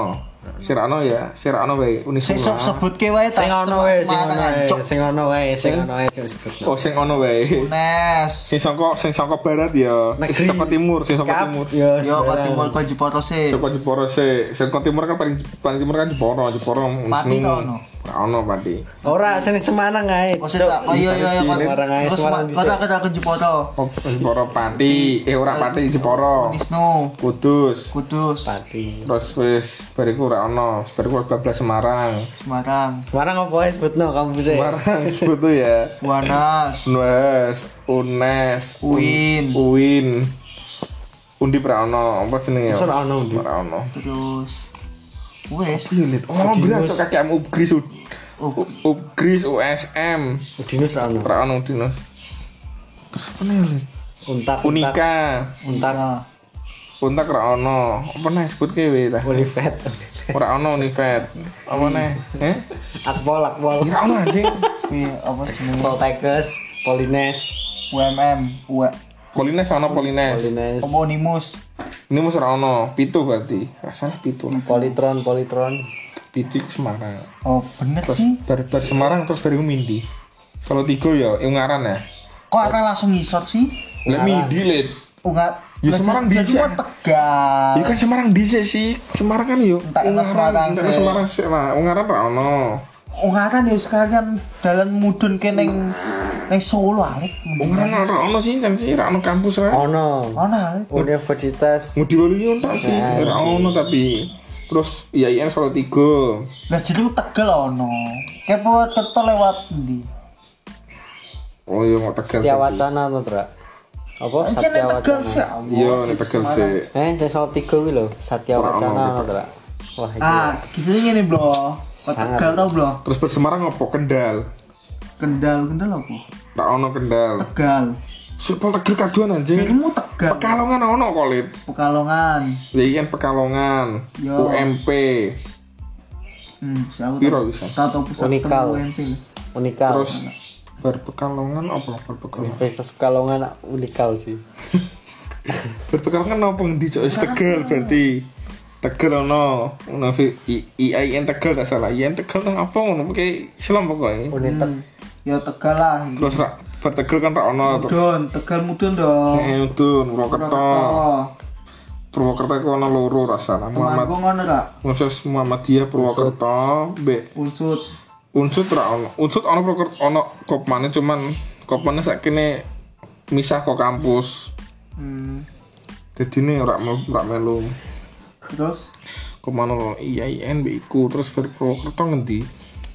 Sing ono ya, sing ono wae Sing Unisula. sebutke wae Sing ono wae, sing ono wae, Cuk. sing ono wae, sing ono wae sing disebutno. Oh, sing ono wae. Unes. Sing saka sing saka barat ya. Negeri. Saka timur, sing saka Kap, timur. Yo, Yo kok sembarang. timur kok Jepara sih. Saka Jepara sih. Saka timur kan paling paling timur kan Jepara, Jepara Pati ta ono? Ora ono Pati. Ora sing Semarang ae. Oh, sing tak- oh iya iya iya kok. Semarang ae, Terus Semarang kok tak kata ke Jepara. Oh, Jepara Pati. Eh ora Pati, Jepara. Wisnu, Kudus. Kudus, Pati. Terus wis bariku ora ono. Bariku bablas Semarang. Semarang, Semarang apa wae sebutno kampus e? Semarang sebut tuh ya. Wanas, Nues, Unes, Uin. Uin. Undi pra ono, apa jenenge ya? Masa ora ono Undi? Ora ono. terus wes. Oh, berat cok kakek am Upgris. Oh, Upgris U S M. Udinus ora ono. Ora ono Udinus. Terus apa nih? Lid? Untak, untak. Unika. Untak. nah, Untak ora ono. Apa nih sebut kewe ta? Univet. Ora ono Univet. Apa nih? Eh? Akpol, akpol. Ora ono anjing. kuwi apa jenenge? Poltekkes, Polines, U M M, U Polines ono Polines. Polines, Homonimus, Ini mus ora ono. Pitu berarti. Ora salah pitu. Politron, Politron. Pitu ke Semarang. oh bener Terus sih. bar, bar Semarang terus baru Mindi. Solo tiga ya, Ungaran ya. Kok akan langsung ngisor sih? Lah Mindi lid. Enggak. Ya, Semarang jadi dhisik. mau Tegal. Ya kan Semarang dhisik sih. Semarang kan yo. Entak enak Semarang, entak sih. Semarang sih lah. Ungaran ra ono. Ungaran ya sekalian dalan mudun ke neng neng Solo alik. Ungaran ra ono sih kan sih ra ono kampus ra. Ono. Ono alik. Universitas. Ngudi Waluyo entak sih. Nah, Ra ono tapi. Terus I A I N Solo tiga. Lah jadi Tegal ono. Kepo Tirto lewat ndi? Oh iya mau Tegal. Setia berarti. Wacana to, Tra? Apa Iki Satya neng Tegal sih. Wacana? Iya nek Tegal sih. Eh, sing soal tiga kuwi lho, Satya Ora ono, Wacana Pak. to, Tra. Wah, iki. Ah, gitu ngene, Bro. Kok Sangat. Tegal tau, Bro? Terus bar Semarang apa Kendal? Kendal, Kendal apa? Ra ono Kendal. Tegal. Supel Tegal kaduan anjing. Jadi mau Tegal. Pekalongan ono kok lid. Pekalongan. I A I N Pekalongan. Yo. U M P. Hmm, saya Piro bisa? Tahu tahu pusat Unikal. U M P. Unikal. Terus bar Pekalongan apa bar Pekalongan? Universitas Pekalongan unikal sih. Bar Pekalongan apa ngendi cok? Wis Tegal berarti. Tegal ono. Ono I A I N Tegal gak salah. I A I N Tegal nang apa ngono pokoke Islam pokoke. Unitek. Ya Tegal lah. Terus ra bar Tegal kan ra ono. Mudun, Tegal mudun dong. Eh udun Purwokerto. Purwokerto iku ono loro ra salah. Muhammad Temanggung ngono ra? Universitas Muhammadiyah Purwokerto, B Unsut. Unsut ra ono. Unsut ono Purwokerto ono kopmane cuman kopmane sakene misah kok kampus. Hmm. Jadi ini ora melu ora melu. Terus Komano I A I N B iku terus bar Purwokerto ngendi?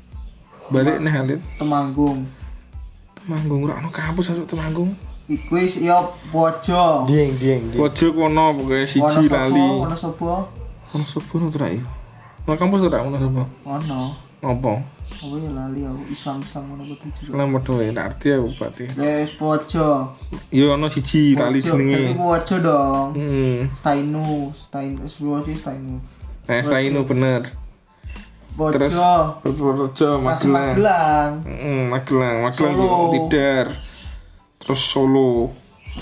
Balik nih Halid. Temanggung. Temanggung ora ono kampus asuk Temanggung. Iku wis ya Pojo. Dieng, dieng, dieng. Pojok kono pokoke siji lali. Ono sapa? Ono sopo no tra iki? Ono kampus ora ono sopo? Ono. Apa? Apa ya lali aku Islam-Islam ngono apa tujuh. Nomor dua tak arti aku berarti. Wis Pojo. Yo ono siji lali Pojo. Tapi jenenge. Pojo dong. Hmm. Stainu, Stainu, sebelum sih Stainu. Nah, setelah ini bener. Pojo. Terus Purworejo, Masih Magelang. Magelang. Heeh, Magelang, Magelang Solo. yo Tidar. Terus Solo.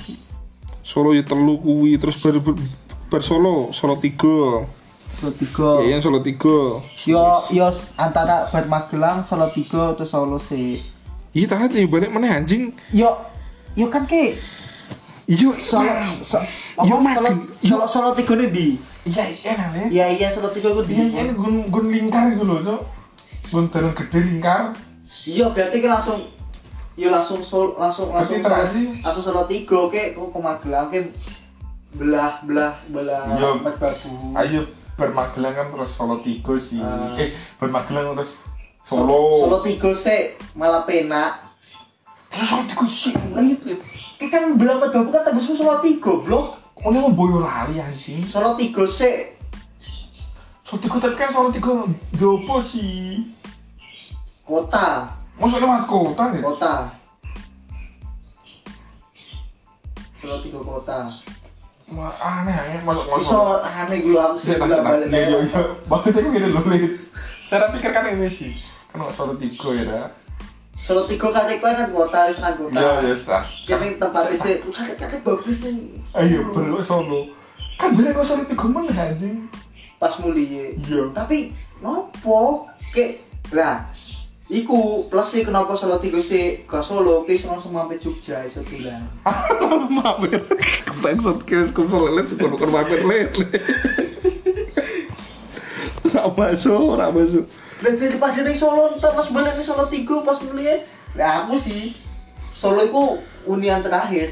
Solo ya telu kuwi, terus bar, bar, bar Solo, Solo tiga. Solo tiga. Ya, Solo tiga. Yo yo antara bar Magelang, Solo tiga terus Solo sih. Iya, tak lihat balik mana anjing. Yo yo kan ke Iya, Solo nah. so, Yo, apa, Solo Mag- Solo Solo tiga nih di. Iya, iya kan ya. Iya iya Solo tiga gue di. Iya, iya, gun gun lingkar gitu loh, Cok. Gun dalam gede lingkar. Iya berarti kan langsung yo langsung sol langsung langsung Berarti terasi. langsung Solo tiga ke kok ke Magelang ke belah belah belah Iya. Merbabu. Ayo bermagelang kan terus Solo tiga sih. Ah. Eh, bermagelang terus Solo. Solo tiga sih malah penak. Terus Solo tiga sih. Ribet. Ki kan belah Merbabu kan tembus Solo tiga, Blok. Oh, ini mau Boyolali anjing. Solo tiga sih Solo tiga tapi kan Solo tiga jopo sih. kota, Masuk lewat kota ya? kota. Solo tiga kota. Wah, aneh aneh masuk masuk. Iso aneh gue aku sih Iya, bolak balik. iya, iya, iya. Maksudnya aku gini loh, Lid. Saya pikir kan ini sih. Kan Solo tiga ya, dah. Solo tiga kan iku kan kota, wis kan kota. Iya, ya sudah. Kene tempat sih, kakek-kakek bagus nih. Ayo, bro Solo. Kan bilang kok Solo tiga mana anjing? pas mulai. Iya. Tapi nopo kayak lah iku plus sih kenapa Solo tiga sih ke Solo ke langsung mampir Jogja iso bulan. Mampir. Bangsat kira konsol lele bukan bukan mampir lele. Ora masuk, ora masuk. Lah daripada ning Solo entar pas balik ning Solo tiga pas mulai. Lah aku sih Solo iku unian terakhir.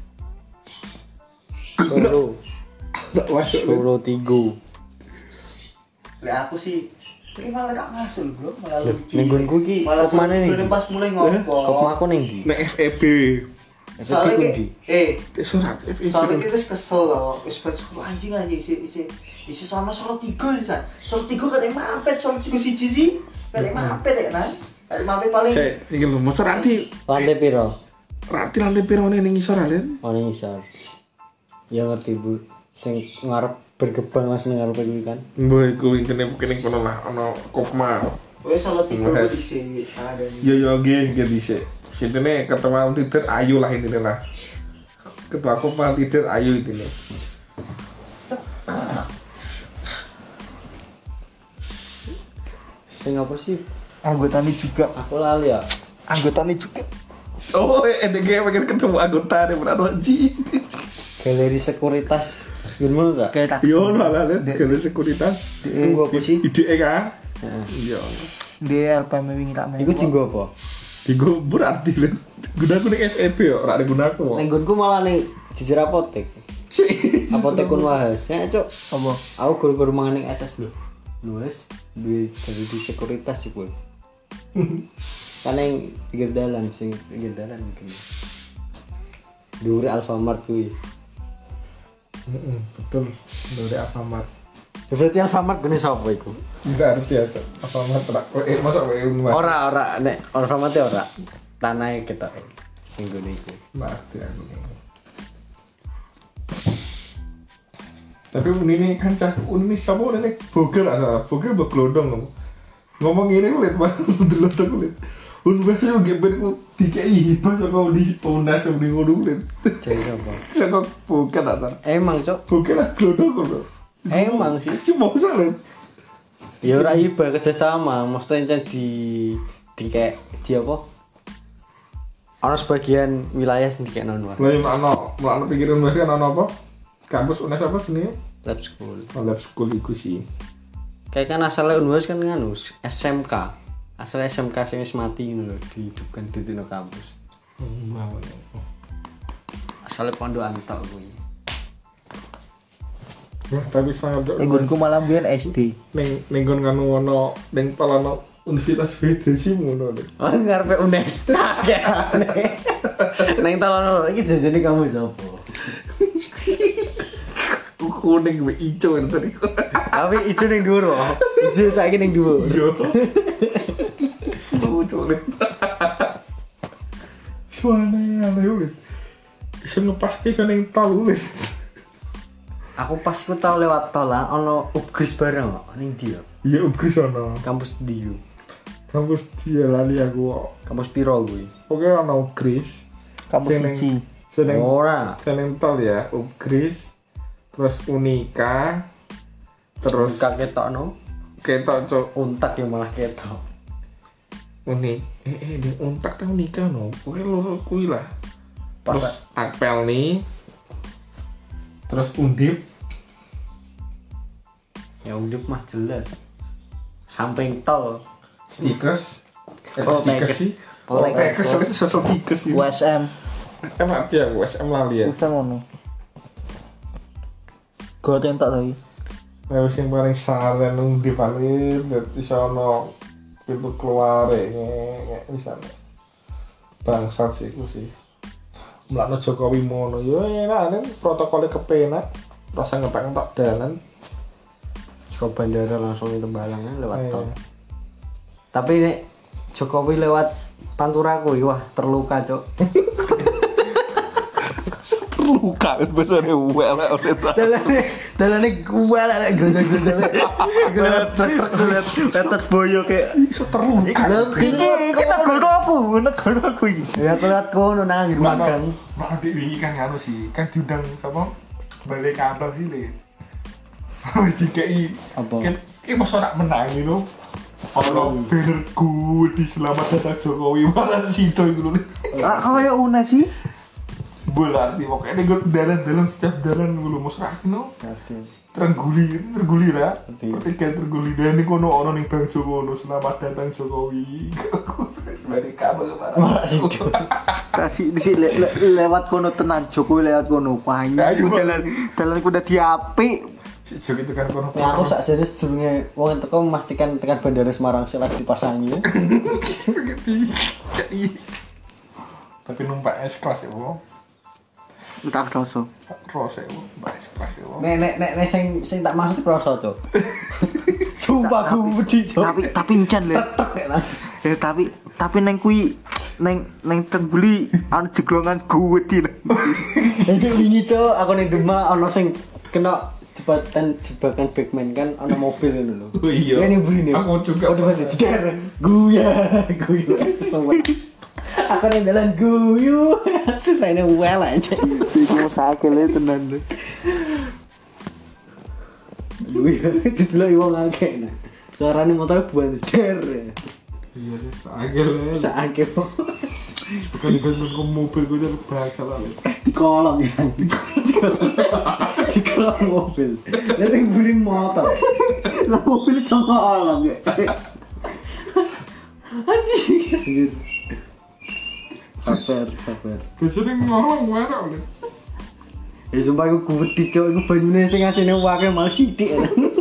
Solo Ora masuk. Solo tiga. Lah aku sih iki malah gak masuk bro, malah lucu. Ning nggonku iki Malah kok mana nih? sebelum pas mulai ngopo. Kok aku ning ndi? Nek F E B. Soalnya F E B kayak, ndi? eh, Surat F E B. soalnya kayak wis kesel loh, wis pengen anjing anjing isi isi isi sama Solo tiga sih san. Solo tiga katanya mampet, Solo tiga siji sih, katanya mampet ya kan? Katanya mampet paling. Saya iki lho, mosok arti Lantai piro? arti lantai piro ning ngisor alen. Oh ning isor. Ya ngerti Bu. Sing ngarep berkembang Mas ning ngarep kuwi kan. Mbah iku intine kene kono lah ana Kofma. Wes Solo tiga Mas. isi ada nih. Ya ya nggih nggih dhisik. Intine ketua tidur ayu lah intine lah. Ketua Kofma tidur ayu intine. Sing apa sih? Anggotanya juga, Aku lali ya. anggotanya juga. Oh, ada game pengen ketemu anggota deh benar wajib. Galeri sekuritas. Gimana enggak? Kayak Yo, no lah, kalau sekuritas. Tunggu apa sih? Ide kan? Heeh. Iya. dia L P M wingi tak main. Iku tinggo apa? Tigo berarti lah. Gunaku nih F E B yo, ora ada gunaku. Ning nggonku malah ning jijir apotek. Apotek kun wahas. Ya, Cuk. Apa? Aku guru-guru mangan ning S S lho. Nulis duwe dari di sekuritas sih, Bun. Kan yang pinggir dalan sing pinggir dalan mungkin. Dure Alfamart kuwi. Heeh, betul. Dari Alfamart. Ya, berarti Alfamart gune sapa iku? Enggak arti aja. Alfamart ora. Eh, masa W U Unmar. Ora ora nek Alfamart e ora. Tanahe ketok sing gune iku. Mati aku. Tapi ini kan cah ini siapa ini bogel lah salah bogel beglodong ngomong ini kulit banget delotong kulit un bahasa geber ku dikai bahasa kau di unas di ngono kulit Jadi sapa? saya bogel lah salah Emang, Cuk. bogel lah glodong kulit Emang sih. cuma salah Ya ora iba kerjasama, mesti di di kayak di apa? Ana sebagian wilayah sing dikek non lah yang ano mana pikiran masih kan ano apa kampus unas apa sini lab school. oh, lab school itu sih Kayak kan asalnya Unwas kan nganu S M K. Asal S M K sing wis mati ngono lho, dihidupkan di tino kampus. mau Asalnya pondokan tok kuwi. ya tapi sangat Enggonku malam biyen S D. neng nenggon kanu ono neng palano Universitas Vedasi ngono lho. Oh ngarepe Unes. Neng talono iki jajane kamu sapa? Kuning be ijo kan tadi. Tapi ijo ning dhuwur kok. Ijo saiki ning dhuwur. Yo. Mau colet. Suara yang lewat. Bisa ngepas ke sana yang tahu leh. Aku pas ku tau lewat tol lah ono upgrade bareng kok ning ndi ya? Iya ubri sana. Kampus ndi yo? Kampus dia lali aku. Kampus piro kuwi? Oke ono Kris. Kampus siji. Seneng Ora. seneng tol ya, Upgris. Terus Unika. Terus Kak ketokno. ketok cok Untak yang malah ketok. unik. Eh eh di untak tau Unika no. Oke loro kuwi lah. Pas Terus Akpel nih. Terus Undip. ya undip mah jelas. Samping tol. Stikers. Eh, Oh, stikers Tekes. sih. Oh, Oh, Tekes itu sosok stikers sih. U S M. M arti aku S M lali ya. Bisa ngono. Gue tentak tadi. Nah, wis yang paling saren nung di paling dadi sono pintu keluar ya ngek bisa. Bangsat sih ku sih. Mlakno Jokowi mono yo enak kan protokolnya kepenak. Rasa ngetak-ngetak dalan. Ke bandara langsung itu balangnya lewat Iya. tol. Tapi nek Jokowi lewat Pantura kuwi wah terluka, Cuk. Terluka sebenarnya well oleh Dalane dalane gua lah gondol-gondol. Gelet truk gelet petet boyo kayak iso terluka. lho kene kita bodoh aku, ngono aku iki. Ya aku lihat kono nang makan. Mak adik wingi kan nganu sih, kan diundang apa? Balik kabel sih le. Wis dikei. Apa? Ki mosok nak menang lho. Ono banner good di selamat datang Jokowi malah sido iku lho. Ah, kaya una sih. Bola arti pokoknya gue dalan-dalan setiap dalan gue lu mau serati no Ngerti. terguli itu terguli lah Ngerti. pertigaan terguli dan ini kono ono ning Bang Joko ono selamat datang Jokowi dari kabel kemana Kasih di sini le, le, lewat kono tenan Jokowi lewat kono. Wah, ini Ayo, dalan dalan kuda diapik. si Joko itu kan kono Ya aku sak jane sedurunge wong teko memastikan tekan Bandara Semarang sik lagi dipasangi. tapi numpaknya sekelas ya wo Entah rasa. rose wo mbak sekelas ya wo Nek nek nek nek sing sing tak maksud kroso, Cuk. Sumpah aku wedi, Cuk. Tapi tapi encen le. Tetek nek. Ya tapi tapi neng kui neng neng tengguli ana jeglongan gede. Itu wingi, Cuk, aku ning Demak ana sing kena jebakan jebakan Batman kan ana mobil ngono lho. Oh iya. Ini buri nih. Aku juga Oh, di jeder. Guya, guya. Semua. Aku ning dalan guyu. Supaya well aja. Iku sakit le tenan le. Guya didelok wong akeh nah. Suarane motor buan jeder. iya deh agel ya Saake bukan dengan ke mobil gue udah bakal lah di kolong ya. Di kolong mobil. Lah sing buri motor. Lah mobil sama kolong ya. Anjir. Sabar, sabar. kesini ngomong merah oleh Ya sumpah aku gede cok, aku banyune sing asine wae malah sithik.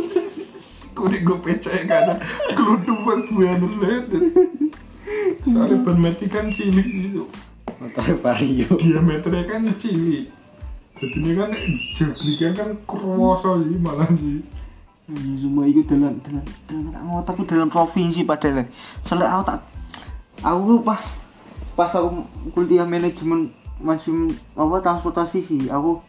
gue di gue pecah kan kelutuan bener banget soalnya ban mati kan cilik sih tuh Motor Vario. diameternya kan cilik jadi ini kan jeglikan kan kerasa sih malah sih Iya semua itu dalam dalam dalam tak ngotot aku dalam provinsi padahal. Soalnya aku tak aku pas pas aku kuliah manajemen masih apa transportasi sih aku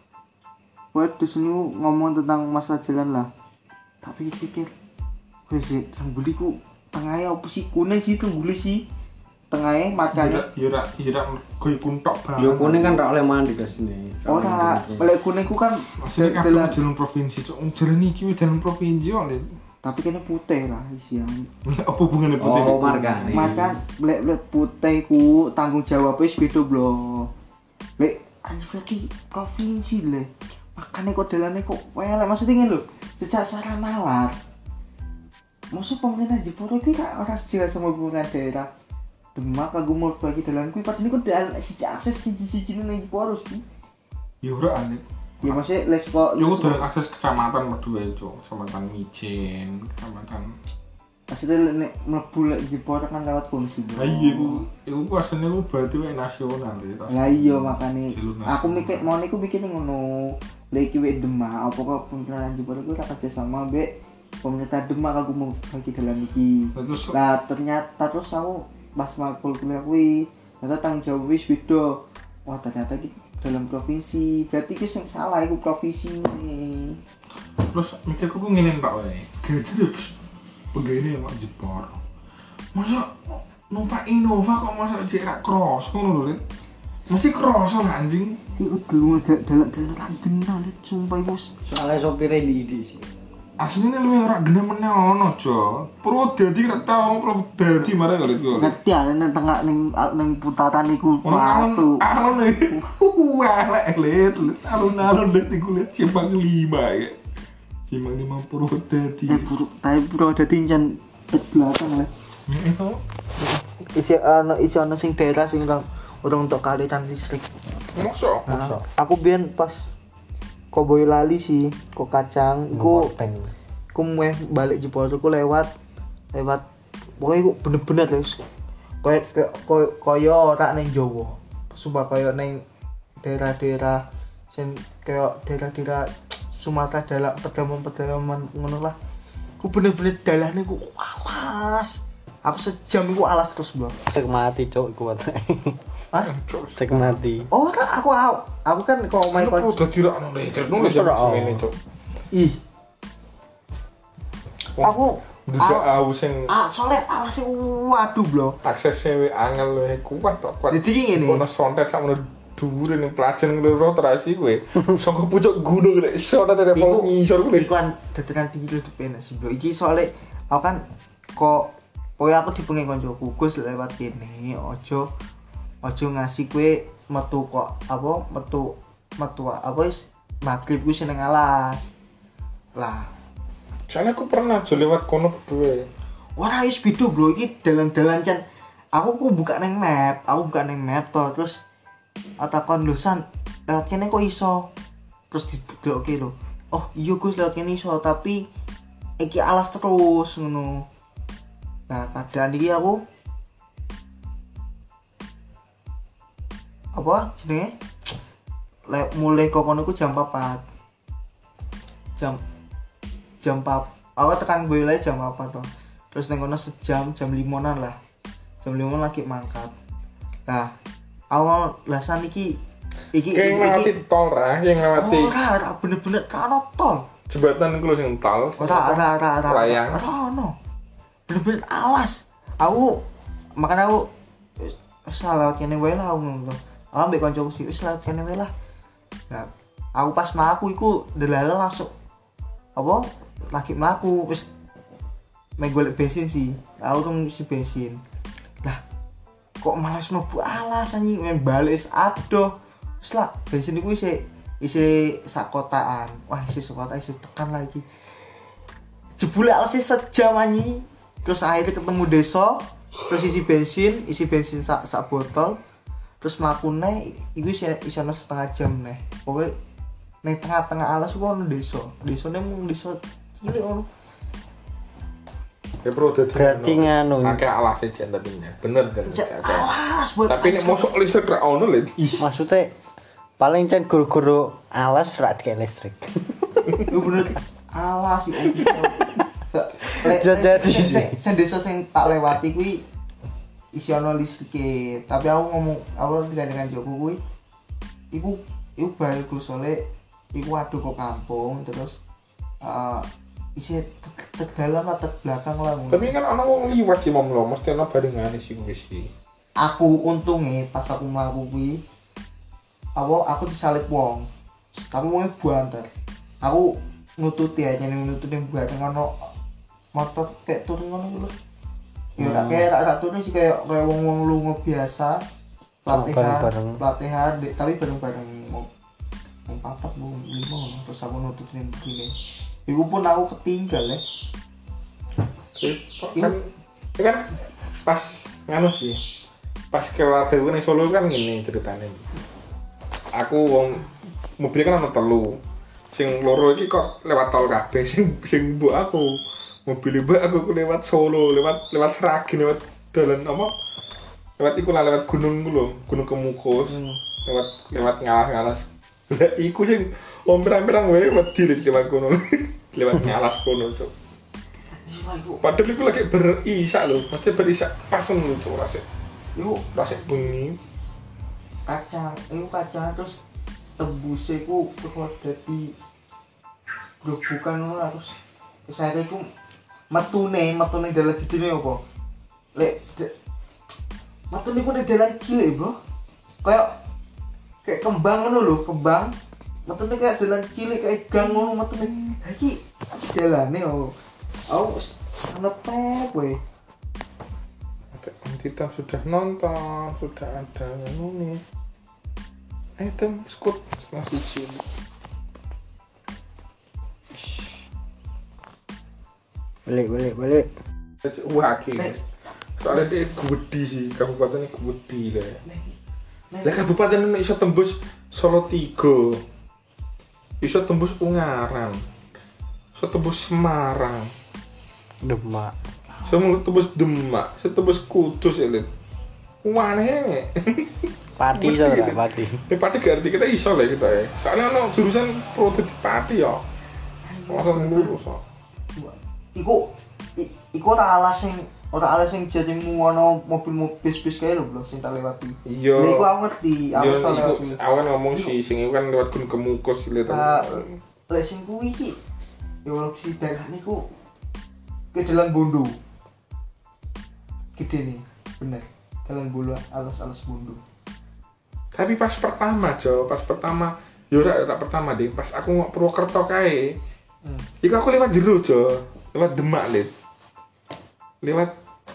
buat di sini ngomong tentang masalah jalan lah. Tapi pikir wes tengguli ku tengahnya apa sih kuning sih tengguli sih tengahnya makanya Yura yura gue kuntok banget Yo kuning kan ra oleh mandi ke sini. ora lek kuning ku kan maksudnya kan dalam- jalan provinsi cok jalan ini kiwi jalan provinsi oleh tapi kena putih lah isian. apa hubungannya putih Oh, marga. Maka lek lek putih ku tanggung jawabnya wis beda blo. Lek anjir berarti provinsi le. Makanya kok dalane kok welek maksudnya ngene lho. Sejak sarana nalar. Maksud pemerintah Jepara iki kan ora jelas sama hubungan daerah. Demak aku mau bagi dalan kuwi padahal kok dalan siji akses siji-siji nang Jepara sih. Yura aneh Ya maksudnya lek kok Yo udah akses kecamatan berdua itu, kecamatan Mijen, kecamatan. maksudnya nek mlebu lek Jepara kan lewat kunci. Nah iya, itu, itu aslinya lu berarti wae nasional ya. Lah iya makane Jalur aku nasional. mikir mau niku mikir ngono. Lek iki wek Demak apa kok pemerintahan Jepara ku ora kerja sama mbek pemerintah Demak aku mau bagi dalan iki. Nah, terus Lah ternyata terus aku pas makul kuliah kuwi ternyata tanggung jawab wis beda. Wah ternyata iki dalam provinsi. Berarti iki sing salah iku provinsi ini. terus mikirku ku ngene Pak wae. Gaji terus pegawai mak Jepor. Masa numpak Innova kok masa cek ra cross ngono lho, Rit. Mesti cross lah anjing. Iku dulu dalan-dalan tak kenal sumpah iku. Soalnya sopirnya di di sih. Aslinya lu ora genah meneh ono, Jo. Pro dadi ra tau pro dadi marah kali itu. Ngerti ya nang tengah ning ning putaran iku Ono watu. alun alun wah lek alun-alun dadi kulit simpang lima ya. Simpang lima pro dadi. Eh buruk tapi bro dadi jan tek belakang lah. Ya itu. Isi ana isi ana sing daerah sing orang orang untuk kalitan listrik. Mosok. Nah, aku biyen pas kok Boyolali sih, kok kacang, iku ku meh balik Jepara ku lewat lewat pokoknya iku bener-bener wis koyo koyo koyo ora ning Jawa. Sumpah koyo ning daerah-daerah sing koyo daerah-daerah Sumatera dalam pedalaman-pedalaman ngono lah. Ku bener-bener dalane ku alas. Aku sejam iku alas terus, Bro. Sek mati cok kuat. Hah? Sek mati. Oh, tak aku aku, aku kan kok omahe Pro kon. dadi ra ono listrik nulis ya ngene, Cuk. Ih. Aku Ndak ah, aku sing ah, soalnya alasnya waduh bro. aksesnya we angel we kuat tok kuat. Jadi ki ngene. Ono sontet sak ngono dhuwur ning Plajen loro terasi kowe. Saka pucuk gunung lek iso ta telepon ngisor kowe. Iku kan dadakan tinggi lho penak sih bro. Iki soalnya aku kan kok kowe aku dipengen koncoku Gus lewat kene ojo ojo ngasih kowe metu kok apa metu metu apa wis magrib ku seneng alas. Lah, soalnya aku pernah aja lewat kono berdua. ora wis beda bro iki dalan-dalan can. Aku ku buka neng map, aku buka neng map to terus atakon lusan lewat kene kok iso. Terus didelokke lho. Oh, iya Gus lewat kene iso tapi iki alas terus ngono. Nah, keadaan iki aku apa jenenge? Le, mulai kok kono ku jam empat. Jam jam empat. Aku tekan boyle jam apa to? Terus neng kono sejam, jam limonan lah. Jam lima lagi mangkat. Nah, awal lasan iki iki Kayak ngelewati tol ra, yang ngelewati ora ora bener-bener kan tol. jembatan iku lho sing tol. Ora ora ora ora. Layang. Ora ono. Bener-bener alas. Aku makanya aku wis salah kene wae lah aku ngono. Aku ambek kancaku sih wis lah kene wae lah. Nah, aku pas mlaku iku delala langsung apa lagi mlaku wis main golek bensin sih. Aku tuh isi bensin. Lah kok malas mlebu alas anjing main balik adoh. Wis lah bensin iku isi isi sak kotaan. Wah, isi sak kotaan isi tekan lagi. Jebule alas sejam anjing. Terus akhirnya ketemu desa, terus isi bensin, isi bensin sak sak botol. Terus mlakune iku isi isono setengah jam neh. Pokoke ning tengah-tengah alas ku ono desa. Desane mung desa cilik ono. Ya bro, dadi Berarti nganu. Akeh alas jen tapi bener kan. Alas buat Tapi nek mosok listrik ra ono lho. Maksudnya paling cen guru-guru alas ra dikek listrik. Yo bener alas iki. Jadi sih. Sing desa sing tak lewati kuwi isi ono listrik. Tapi aku ngomong aku dengan Joko kuwi iku iku bagus soalnya iku adu ke kampung terus uh, isi tegalan atau belakang lah. Tapi kan ana wong liwat sih mom lho, mesti ana barengane sih kuwi sih. Aku untungnya pas aku mlaku kuwi apa aku disalip wong. Tapi wongnya buanter. Aku nututi aja nih nututi buat ngono motor kayak turun ngono lho. Ya tak kayak tak turun sih kayak kayak wong-wong lunga biasa. Pelatihan, bareng-bareng. pelatihan di- tapi bareng-bareng mau mau papat mau lima terus aku nututin begini. Iku pun aku ketinggal ya. Kan itu kan pas nganu sih. Pas keluarga gue ning Solo kan ngene ceritane. Aku wong mobil kan ana telu. Sing loro iki kok lewat tol kabeh sing sing mbok aku. Mobil mbok aku ku lewat Solo, lewat lewat Seragen, lewat dalan apa? Lewat iku lah lewat gunung ku lho, Gunung Kemukus. Hmm. Lewat lewat ngalas-ngalas. Lah iku sing omprang-omprang wae wedi lewat kono. Lewat ngalas kono, Cuk. Iya iku. Padahal iku lagi berisak lho, pasti berisak pas ngono Cuk rasik. Iku Rasik bengi. kacang, iku kacang terus tembusnya iku terus dadi grobokan ngono lah, terus saya iku metune, metune dalan gedene apa? Lek de- metune ku ning dalan cilik, Bro. Kayak kayak kembang ngono lho, kembang. Metune kayak dalan cilik kayak gang ngono metune. Ha iki dalane oh. Aku wis ana tep we. Kita sudah nonton, sudah ada ini. Item skut setelah suci. Balik balik balik. Wah, akhirnya. Soalnya dia gede sih, kabupatennya gede lah. Lah kabupaten ini bisa tembus Solo tiga. Bisa tembus Ungaran. Bisa tembus Semarang. Demak. Semua tembus Demak, saya tembus Kudus ya, Lid. Waneh. Pati Mesti, so Lid. pati. Ini pati ganti kita iso lah kita ya. Soalnya ada jurusan protes pati ya. Langsung lurus kok. Iku i- iku ora alas sing ora alas sing jadimu ono mobil-mobil bis-bis kae lho, Bro, sing tak lewati. Iya. Lha iku aku ngerti, aku Yo, tau iku lewati. awan ngomong sih, sing iku kan lewat Gunung Kemukus lihat. Nah, lek sing kuwi iki ya wong si daerah niku ke dalan Bondo. Gede nih, bener. Dalan Bondo alas-alas Bondo. Tapi pas pertama, Jo, pas pertama, yo ora ora pertama deh, pas aku mau Purwokerto kae. Hmm. Iku aku lewat jero, Jo. Lewat Demak, Lid. Lewat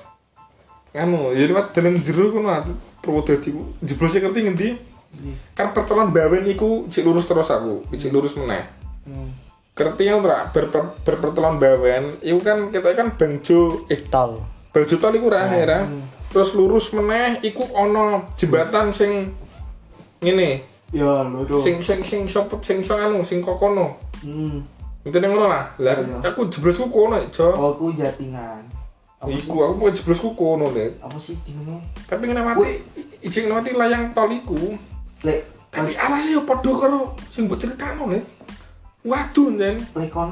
anu, ya lewat dalan jero kono Purwodadi ku. Jeblose ngerti ngendi? Kan pertemuan Bawen iku cek lurus terus aku, cek lurus meneh. Hmm. Ngerti ora ber, ber, berpertemuan Bawen, iku kan kita kan Bangjo eh Tol. Bangjo tol iku ra ya. Hmm. Terus lurus meneh iku ana jembatan sing ngene. Ya, lurus. Sing sing sing sopet sing sing anu sing kokono. Hmm. Ngene ngono lah. Lah aku jeblosku kono, Jo. Oh, ku Jatingan. Iku aku mau jeblosku kono, Lek. Apa sih jenenge? Tapi ngelewati ijing ngelewati layang tol iku. Lek, tapi arasnya yo padha karo sing mbok critakno, Lek. Waduh, Nen. lek kon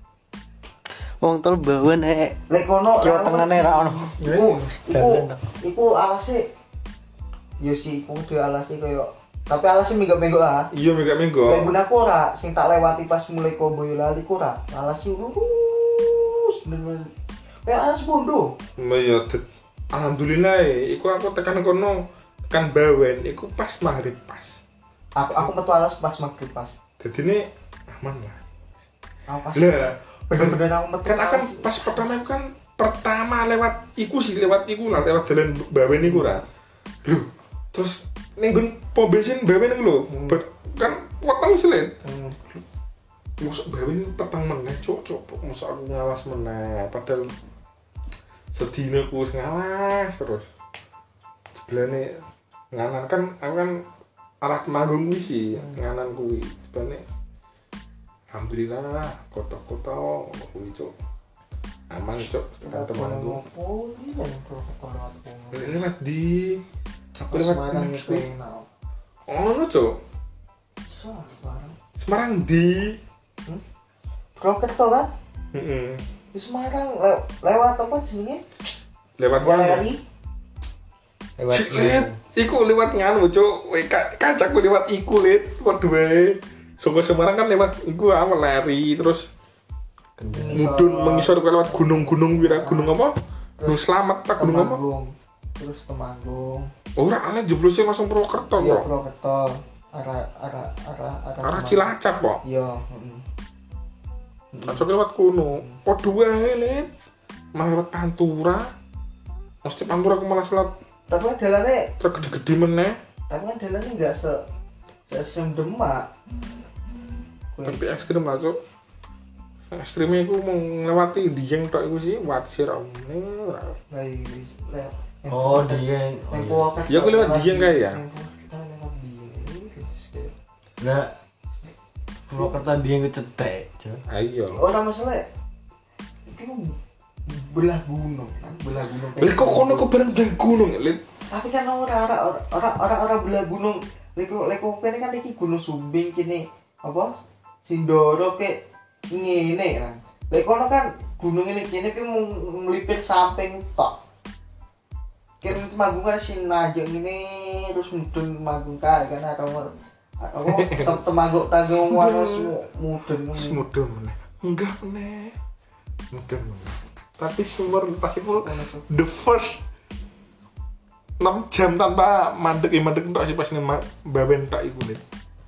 Wong tol Bawen nek lek kono Jawa Tengahne ra ono. Iku iku iku alase yo sih iku dhewe alase koyo tapi alase minggu-minggu ah. Iya, minggu-minggu. Lek gunaku ora sing tak lewati pas mulai ke Boyolali ku ora. Alase lurus bener-bener. Kayak alas bondo. Ya, alhamdulillah iku aku tekan kono tekan Bawen iku pas maghrib pas. Aku aku metu alas pas maghrib pas. Dadine aman lah. Aku pas. Lah, bener-bener aku metu. Kan akan pas pertama itu kan pertama lewat iku sih lewat iku lah lewat dalan Bawen iku ra. Lho, terus ning nggon pom bensin Bawen iku lho. Hmm. Kan potong selit. Hmm. Mosok Bawen petang meneh, cuk, cuk. Mosok aku ngawas meneh padahal sedina ku wis ngawas terus. Sebenarnya nganan kan aku kan arah Temanggung kuwi sih, nganan kuwi. Sebenarnya alhamdulillah kota-kota kuwi cuk. Aman cuk tekan Temanggung. Oh, ini yang protokol Lewat di aku lewat Semarang itu. Oh, no cuk. Semarang. Semarang di Purwokerto kan? Heeh. Di Semarang le- lewat apa jenenge? Lewat Galeri. Lewat Lewat iku lewat nganu cuk. Kancaku lewat iku lit padha wae. Saka Semarang kan lewat iku awal lari terus mudun mengisor lewat gunung-gunung wira gunung apa? Gunung Slamet tak gunung apa? Terus Temanggung. Ora ale jeblose langsung Purwokerto Iya, kok. Purwokerto. Arah arah arah arah. Arah Cilacap kok. Iya, heeh. Kancaku lewat kono. Padha wae lit. Mah lewat Pantura. Mesti Pantura aku malah lewat Tapi kan dalane, truk gede-gede meneh. tapi kan dalane enggak se se Demak. Tapi ekstrim lah cuk. Ekstrimnya aku mau ngelewati Dieng tok iku sih, wati sira omne. Lah wis lewat. Oh, Dieng. Yang Purwokerto. Ya aku lewat Dieng kae ya. Yang Purwokerto lewat Dieng. Lah Purwokerto Dieng ku cetek, Jo. Ayo. Ora masalah. Itu belah gunung kan, belah gunung. Lek kok kono kok bareng belah gunung, Lit. Tapi kan ora ora ora ora ora belah gunung. Lek lek kene kan iki Gunung Sumbing kene apa? Sindoro ke ngene kan. Lek kono kan gunung ini kene ki melipir samping tok. Kene Temanggung kan sinaje ngene terus mudun Temanggung kae kan atau apa Temanggung tanggung waras mudun Semudun meneh. Enggak meneh. Mudun meneh. Tapi sumber pasti full the first enam jam tanpa mandek ya mandek entok sih pas ning Bawen tok iku Lit.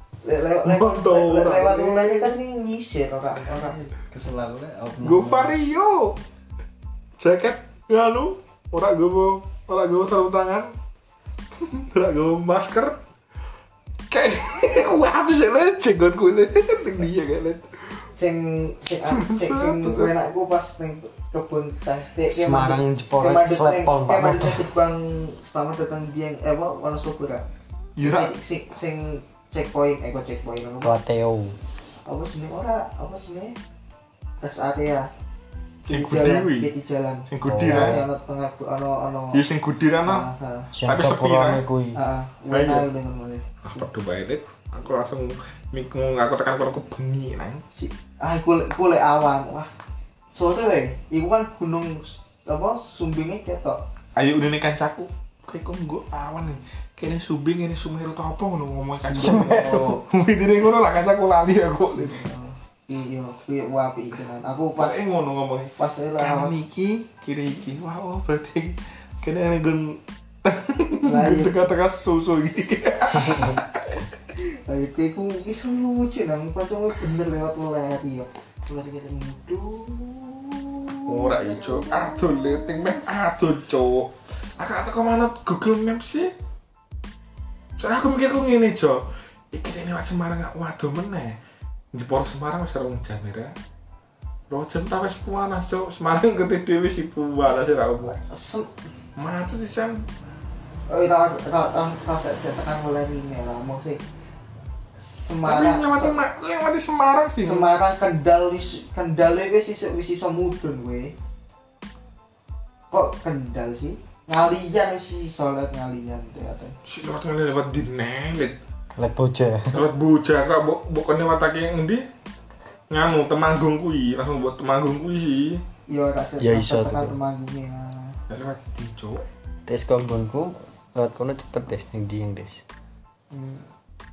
lewat lewat kan ini nyisir orang orang Keselan lek Go Vario. Jaket nganu, ora gowo, ora gowo sarung tangan. Ora gowo masker. Kayak wah bisa le jenggot kulit ning dia kan. sing sing sing sing enakku pas ning kebun teh Semarang Jepara Slepon Pak. Kayak ada Bang selamat datang di yang eh apa Wonosobo ra. Iya. Sing sing checkpoint eh kok checkpoint apa? Wateo. Apa sih ora? Apa sih? Tes area. Sing Di gudi jalan, kuwi. di jalan. Sing gudi Oh. lah. Masih ana tengah ana ana. Ya sing gudi ra no. Heeh. Tapi sepi lah. kuwi. Heeh. Ayo. Enak dengan mulai. Ah, padha wae Lit. Aku langsung mikung aku tekan kono aku bengi nang. Si, ah iku iku lek awan. Wah. Sore wae. Iku kan gunung apa Sumbingnya ketok. Ayo udene kancaku. Kayak kok nggo awan nih. Kene Sumbing ini Sumeru ta apa ngono ngomong kancaku. Oh. Widine ngono lah kancaku lali aku. Iya, kuwi wapi iki kan. Aku pas Pas eh ngono ngomongnya. pas Kanan lewat iki, kiri iki. Wah, oh, berarti kene nggon Lah iya. Teka-teka susu iki. Lah iku iku iku lucu nang pancen bener lewat leri yo. Leri kita mudu. Ora ya, Cuk. Aduh, liting map aduh, Cuk. Aku atau kemana Google Maps sih? Soalnya aku mikir aku ngene, Jo. Iki dene lewat Semarang gak waduh meneh. Jeporo Semarang wis rong jam ya. Rong jam ta wis panas, Cuk. Semarang gede dhewe sih panas ra opo. Macet sih, San. Oh, ora ora ora tekan leri lah mong sih. Tapi Semarang lewati lewati Semarang sih. Semarang Kendal wis Kendal wis iso wis iso mudhun kowe. Kok Kendal sih? Ngalian wis iso lewat ngalian ternyata. Si lewat ngene lewat dinelit. Lek boja. Lewat Boja kok mbok mbok lewatake endi? Nganu Temanggung kuwi, langsung buat Temanggung kuwi sih. Yo rasa Ya iso tekan tuh. Temanggung ya. Ya lewat di Cuk. Tes konggonku lewat kono cepet des ning ndi yang des. Hmm.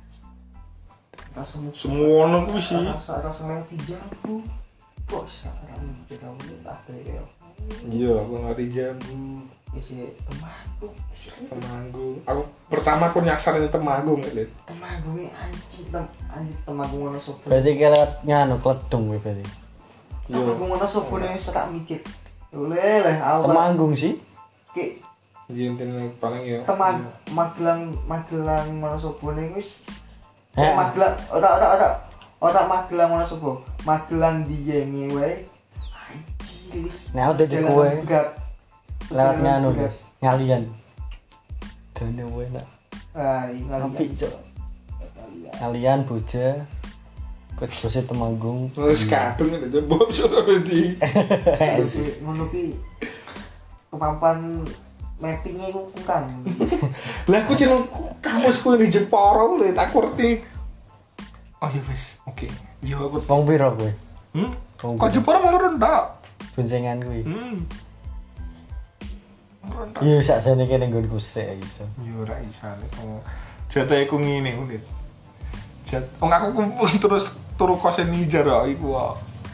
Rasa Semua ono kuwi sih. Rasa rasa lewat tiga aku. Kok sekarang kita udah tak ya. Iya, aku ngerti jambu. Isi Temanggung. Temanggung. Aku pertama aku nyasar yang Temanggung, Lid. Temanggung anjing tem anjing Temanggung ono sopo. Berarti ki lewat nganu kledung kuwi berarti. Temanggung ono sopo nek wis tak mikir. Oleh leh aku Temanggung sih. ki Iya, intine paling ya. Temang Magelang Magelang ono sopo nek wis Eh. eh Magelang ora ora ora ora Magelang ono sopo. Magelang diyenge wae. Anjing wis. Nah, udah di kowe. Lewat nganu guys. des. Ngalian. Dene enak. Ah, iya Apik, Cuk. Ngalian boja. Kudus Temanggung. Wis kadung nek jembok sudah di. Ngono ki kemampuan mappingnya itu kurang. Lah aku jeneng kamusku di Jepara lho, tak ngerti. Oh iya wis, oke. Yo aku. Wong piro kowe? Hmm? Wong Kok piro? Jepara mau rendah? Boncengan kuwi. Hmm. Rendah. Iya sakjane kene nggonku sik iso. Yo ora isane. Oh. Jatahe ku ngene ulit. Jat, wong aku kumpul terus turu kose Nijar kok iku kok.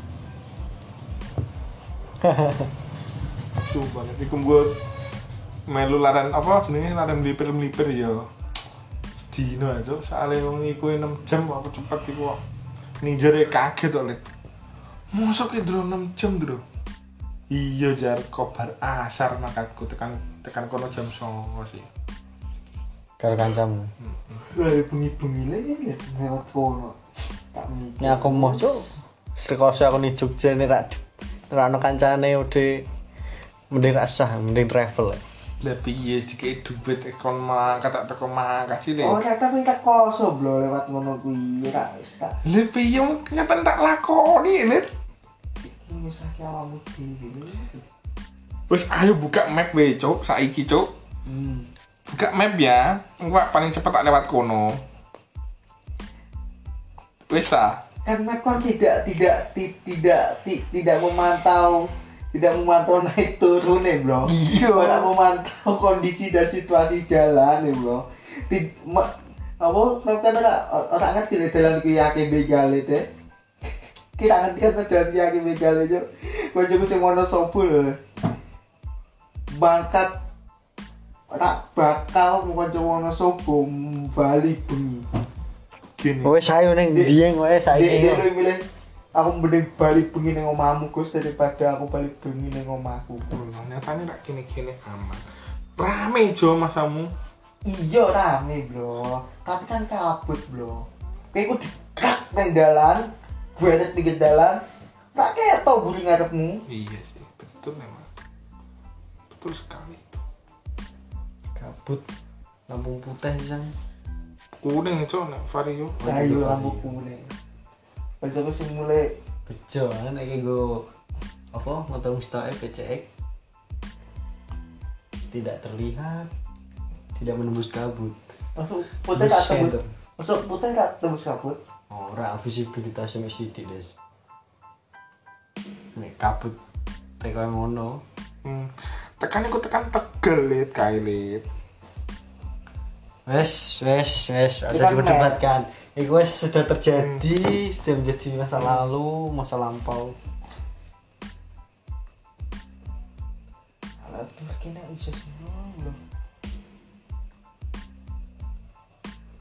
Coba nek iku mbok melu laran apa jenenge laran melipir-melipir ya. Sedino aja soalé wong iku enam jam apa cepet iku kok. Nijar e kaget kok, Lid. Mosok ki ndro enam jam, Ndro. Iya jar kobar asar makatku tekan tekan kono jam songo sih. Karo kancamu. Lah bengi-bengine ya lewat kono. Tak mikir. Nek aku mau cuk. Sekose aku ning Jogja nek rak ora ono kancane udah mending ra sah, mending travel. Lah piye dikek duit ekon mangkat tak teko mangkat sih Oh, Le. ternyata minta koso bro lewat ngono kuwi ra wis tak. Lah piye nyata tak lakoni, Lid. Iki wis akeh awakmu dhewe. Wis ayo buka map we, Cuk, saiki, Cuk. Hmm. Buka map ya. Engko paling cepet tak lewat kono. Wis ta? Kan map kan tidak tidak ti- tidak ti- tidak memantau tidak memantau naik turun nih bro. Iya. Tidak memantau kondisi dan situasi jalan nih bro. Ti- ma- apa map kan ora ora ngerti nek dalan kuwi akeh begale teh. Kita ngerti kan dalan kuwi akeh begale yo. Kancaku sing ono sopo lho. Bangkat ora bakal kancaku ono sopo bali bengi. Gini. Wes ayo ning Dieng wae Dia saiki. dia lebih milih aku mending balik bengi ning omahmu Gus daripada aku balik bengi ning omahku. Nyatane rak kene-kene aman. Rame Jo masamu. Iya rame, Bro. Tapi kan kabut, Bro. Kayak ku dikak nang dalan, gue ada pinggir dalan. Tak kayak tau buri ngarepmu. Iya sih, betul memang. Betul sekali. Kabut. Lampu putih sang. Kuning Cuk nek vario. Ayo lampu kuning. Kancaku sing mulai Bejo nek iki nggo apa motor stoke P C X. Tidak terlihat. Tidak menembus kabut. masuk putih tak Buset. tembus. Masuk putih tak tembus kabut. Ora visibilitas sing sithik, Des. Nek kabut teko ngono. Hmm. Tekan iku tekan Tegal Lid, kae Lid. Wes, wes, wes, Itu usah kan diperdebatkan. Itu wes sudah terjadi, sudah menjadi masa lalu, masa lampau. Alah terus kena iso semua, Bro.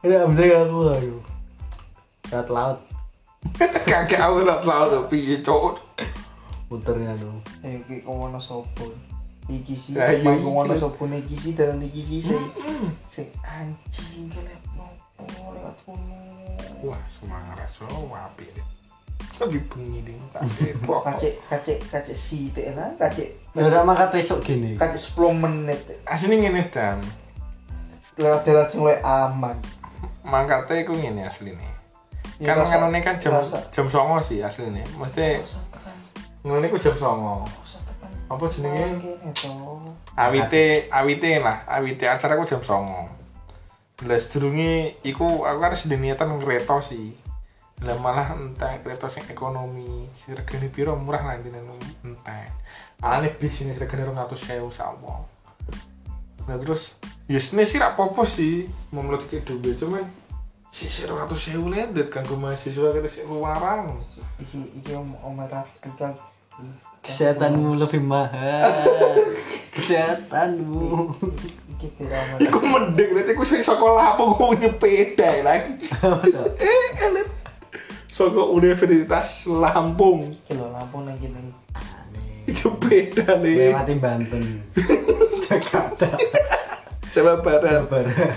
Ya bener aku ayo. Rat laut Kagak aku ora tau to piye cuk. muternya dong. Eh iki kono sopo. Iki sih Lah, iya, mang kono iki. sopo iki sih dalan iki sih sing sing anjing kene nopo lewat kono. Wah, semangat so apik deh. Tapi bengi ding tak depok. Kacek kacek kacek sithik lah, kacek Ya ora mangkat esuk gini. kacek sepuluh menit. Asline ngene dan Lewat dalan sing luwih aman. mangkate iku ngene asline. Ya, Kan rasa- nganone kan jam rasa- jam songo sih asline. Mesti Usah tekan, ngene iku jam songo. usah tekan. Apa jenenge? Kene to. Awite awite lah, awite acara aku jam songo. Lah sedurunge iku aku kan sedhe niatan kereta sih. Lah malah entek kereta sing ekonomi, sing regane piro murah lah intine entek. Alane bis ini regane dua ratus ribu sawo. Nah terus ya sini sih rak popo sih mau melotike duwe cuman sisi dua ratus ribu lendet kanggo mahasiswa kita sik luarang. Iki iki om om Rafika. Kesehatanmu lebih mahal. Kesehatanmu. Iki tidak Iku mending nanti aku sing sekolah apa kok nyepeda lah. Eh elit. Saka Universitas Lampung. Iki lho Lampung nang kene. Itu beda nih. Lewati Banten. Jakarta. Jawa Barat. Barat.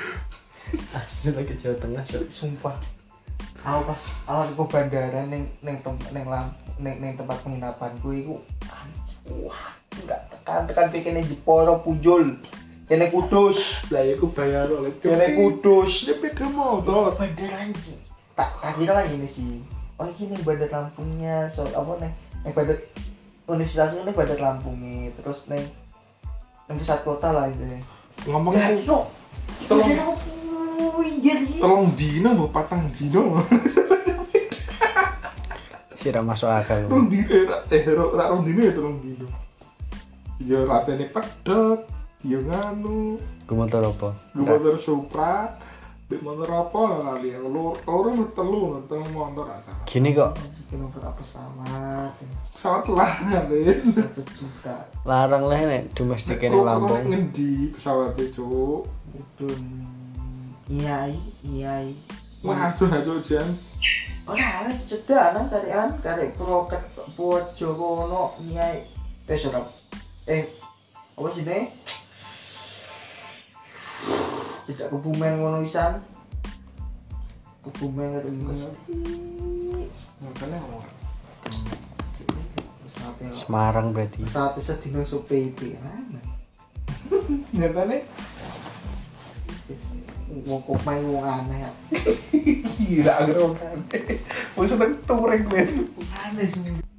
Asli lagi Jawa Tengah. Sumpah. Aku pas awal ke bandara ning ning tem ning lam ning ning tempat penginapanku iku anjing. Wah, enggak tekan-tekan pikirnya Jeporo Pujol. Kene Kudus. Lah iku bayar oleh Kene Kudus. Sepeda motor. Bandara anjing. Tak tak kira lagi nih sih. Oh ini nih bandar Lampungnya, so apa nih? Nih bandar Universitas ini bandar Lampungnya, terus nih nih pusat kota lah itu. Ngomongnya Ya, yo. Tolong. Jadi. tolong dino mbok patang dino. Sira masuk akal. Tolong dino eh rak eh rak rak rong dino ya tolong dino. Ya ratene pedot, ya nganu, Ku motor apa? lu motor Supra, bek motor apa lah kali yang lu loro telu telu motor asa. Gini kok Kena berapa pesawat? Pesawat lah ngalen. Satu juta. larang lah nek domestik ini Lampung. Ngendi pesawate, Cuk? Udun. Iya, iya. Wah, aduh aduh jan. Ora, cedak nang karean karek proket Pojo kono iya. Eh, sorap. Eh, apa sih ne? Tidak Kebumen ngono isan. Kebumen karo iki. Makanya orang. Semarang berarti. Saat sedino so P P ana. Nyatane Wong kok main wong aneh. gila agar orang. Wis seneng touring men. Aneh sih.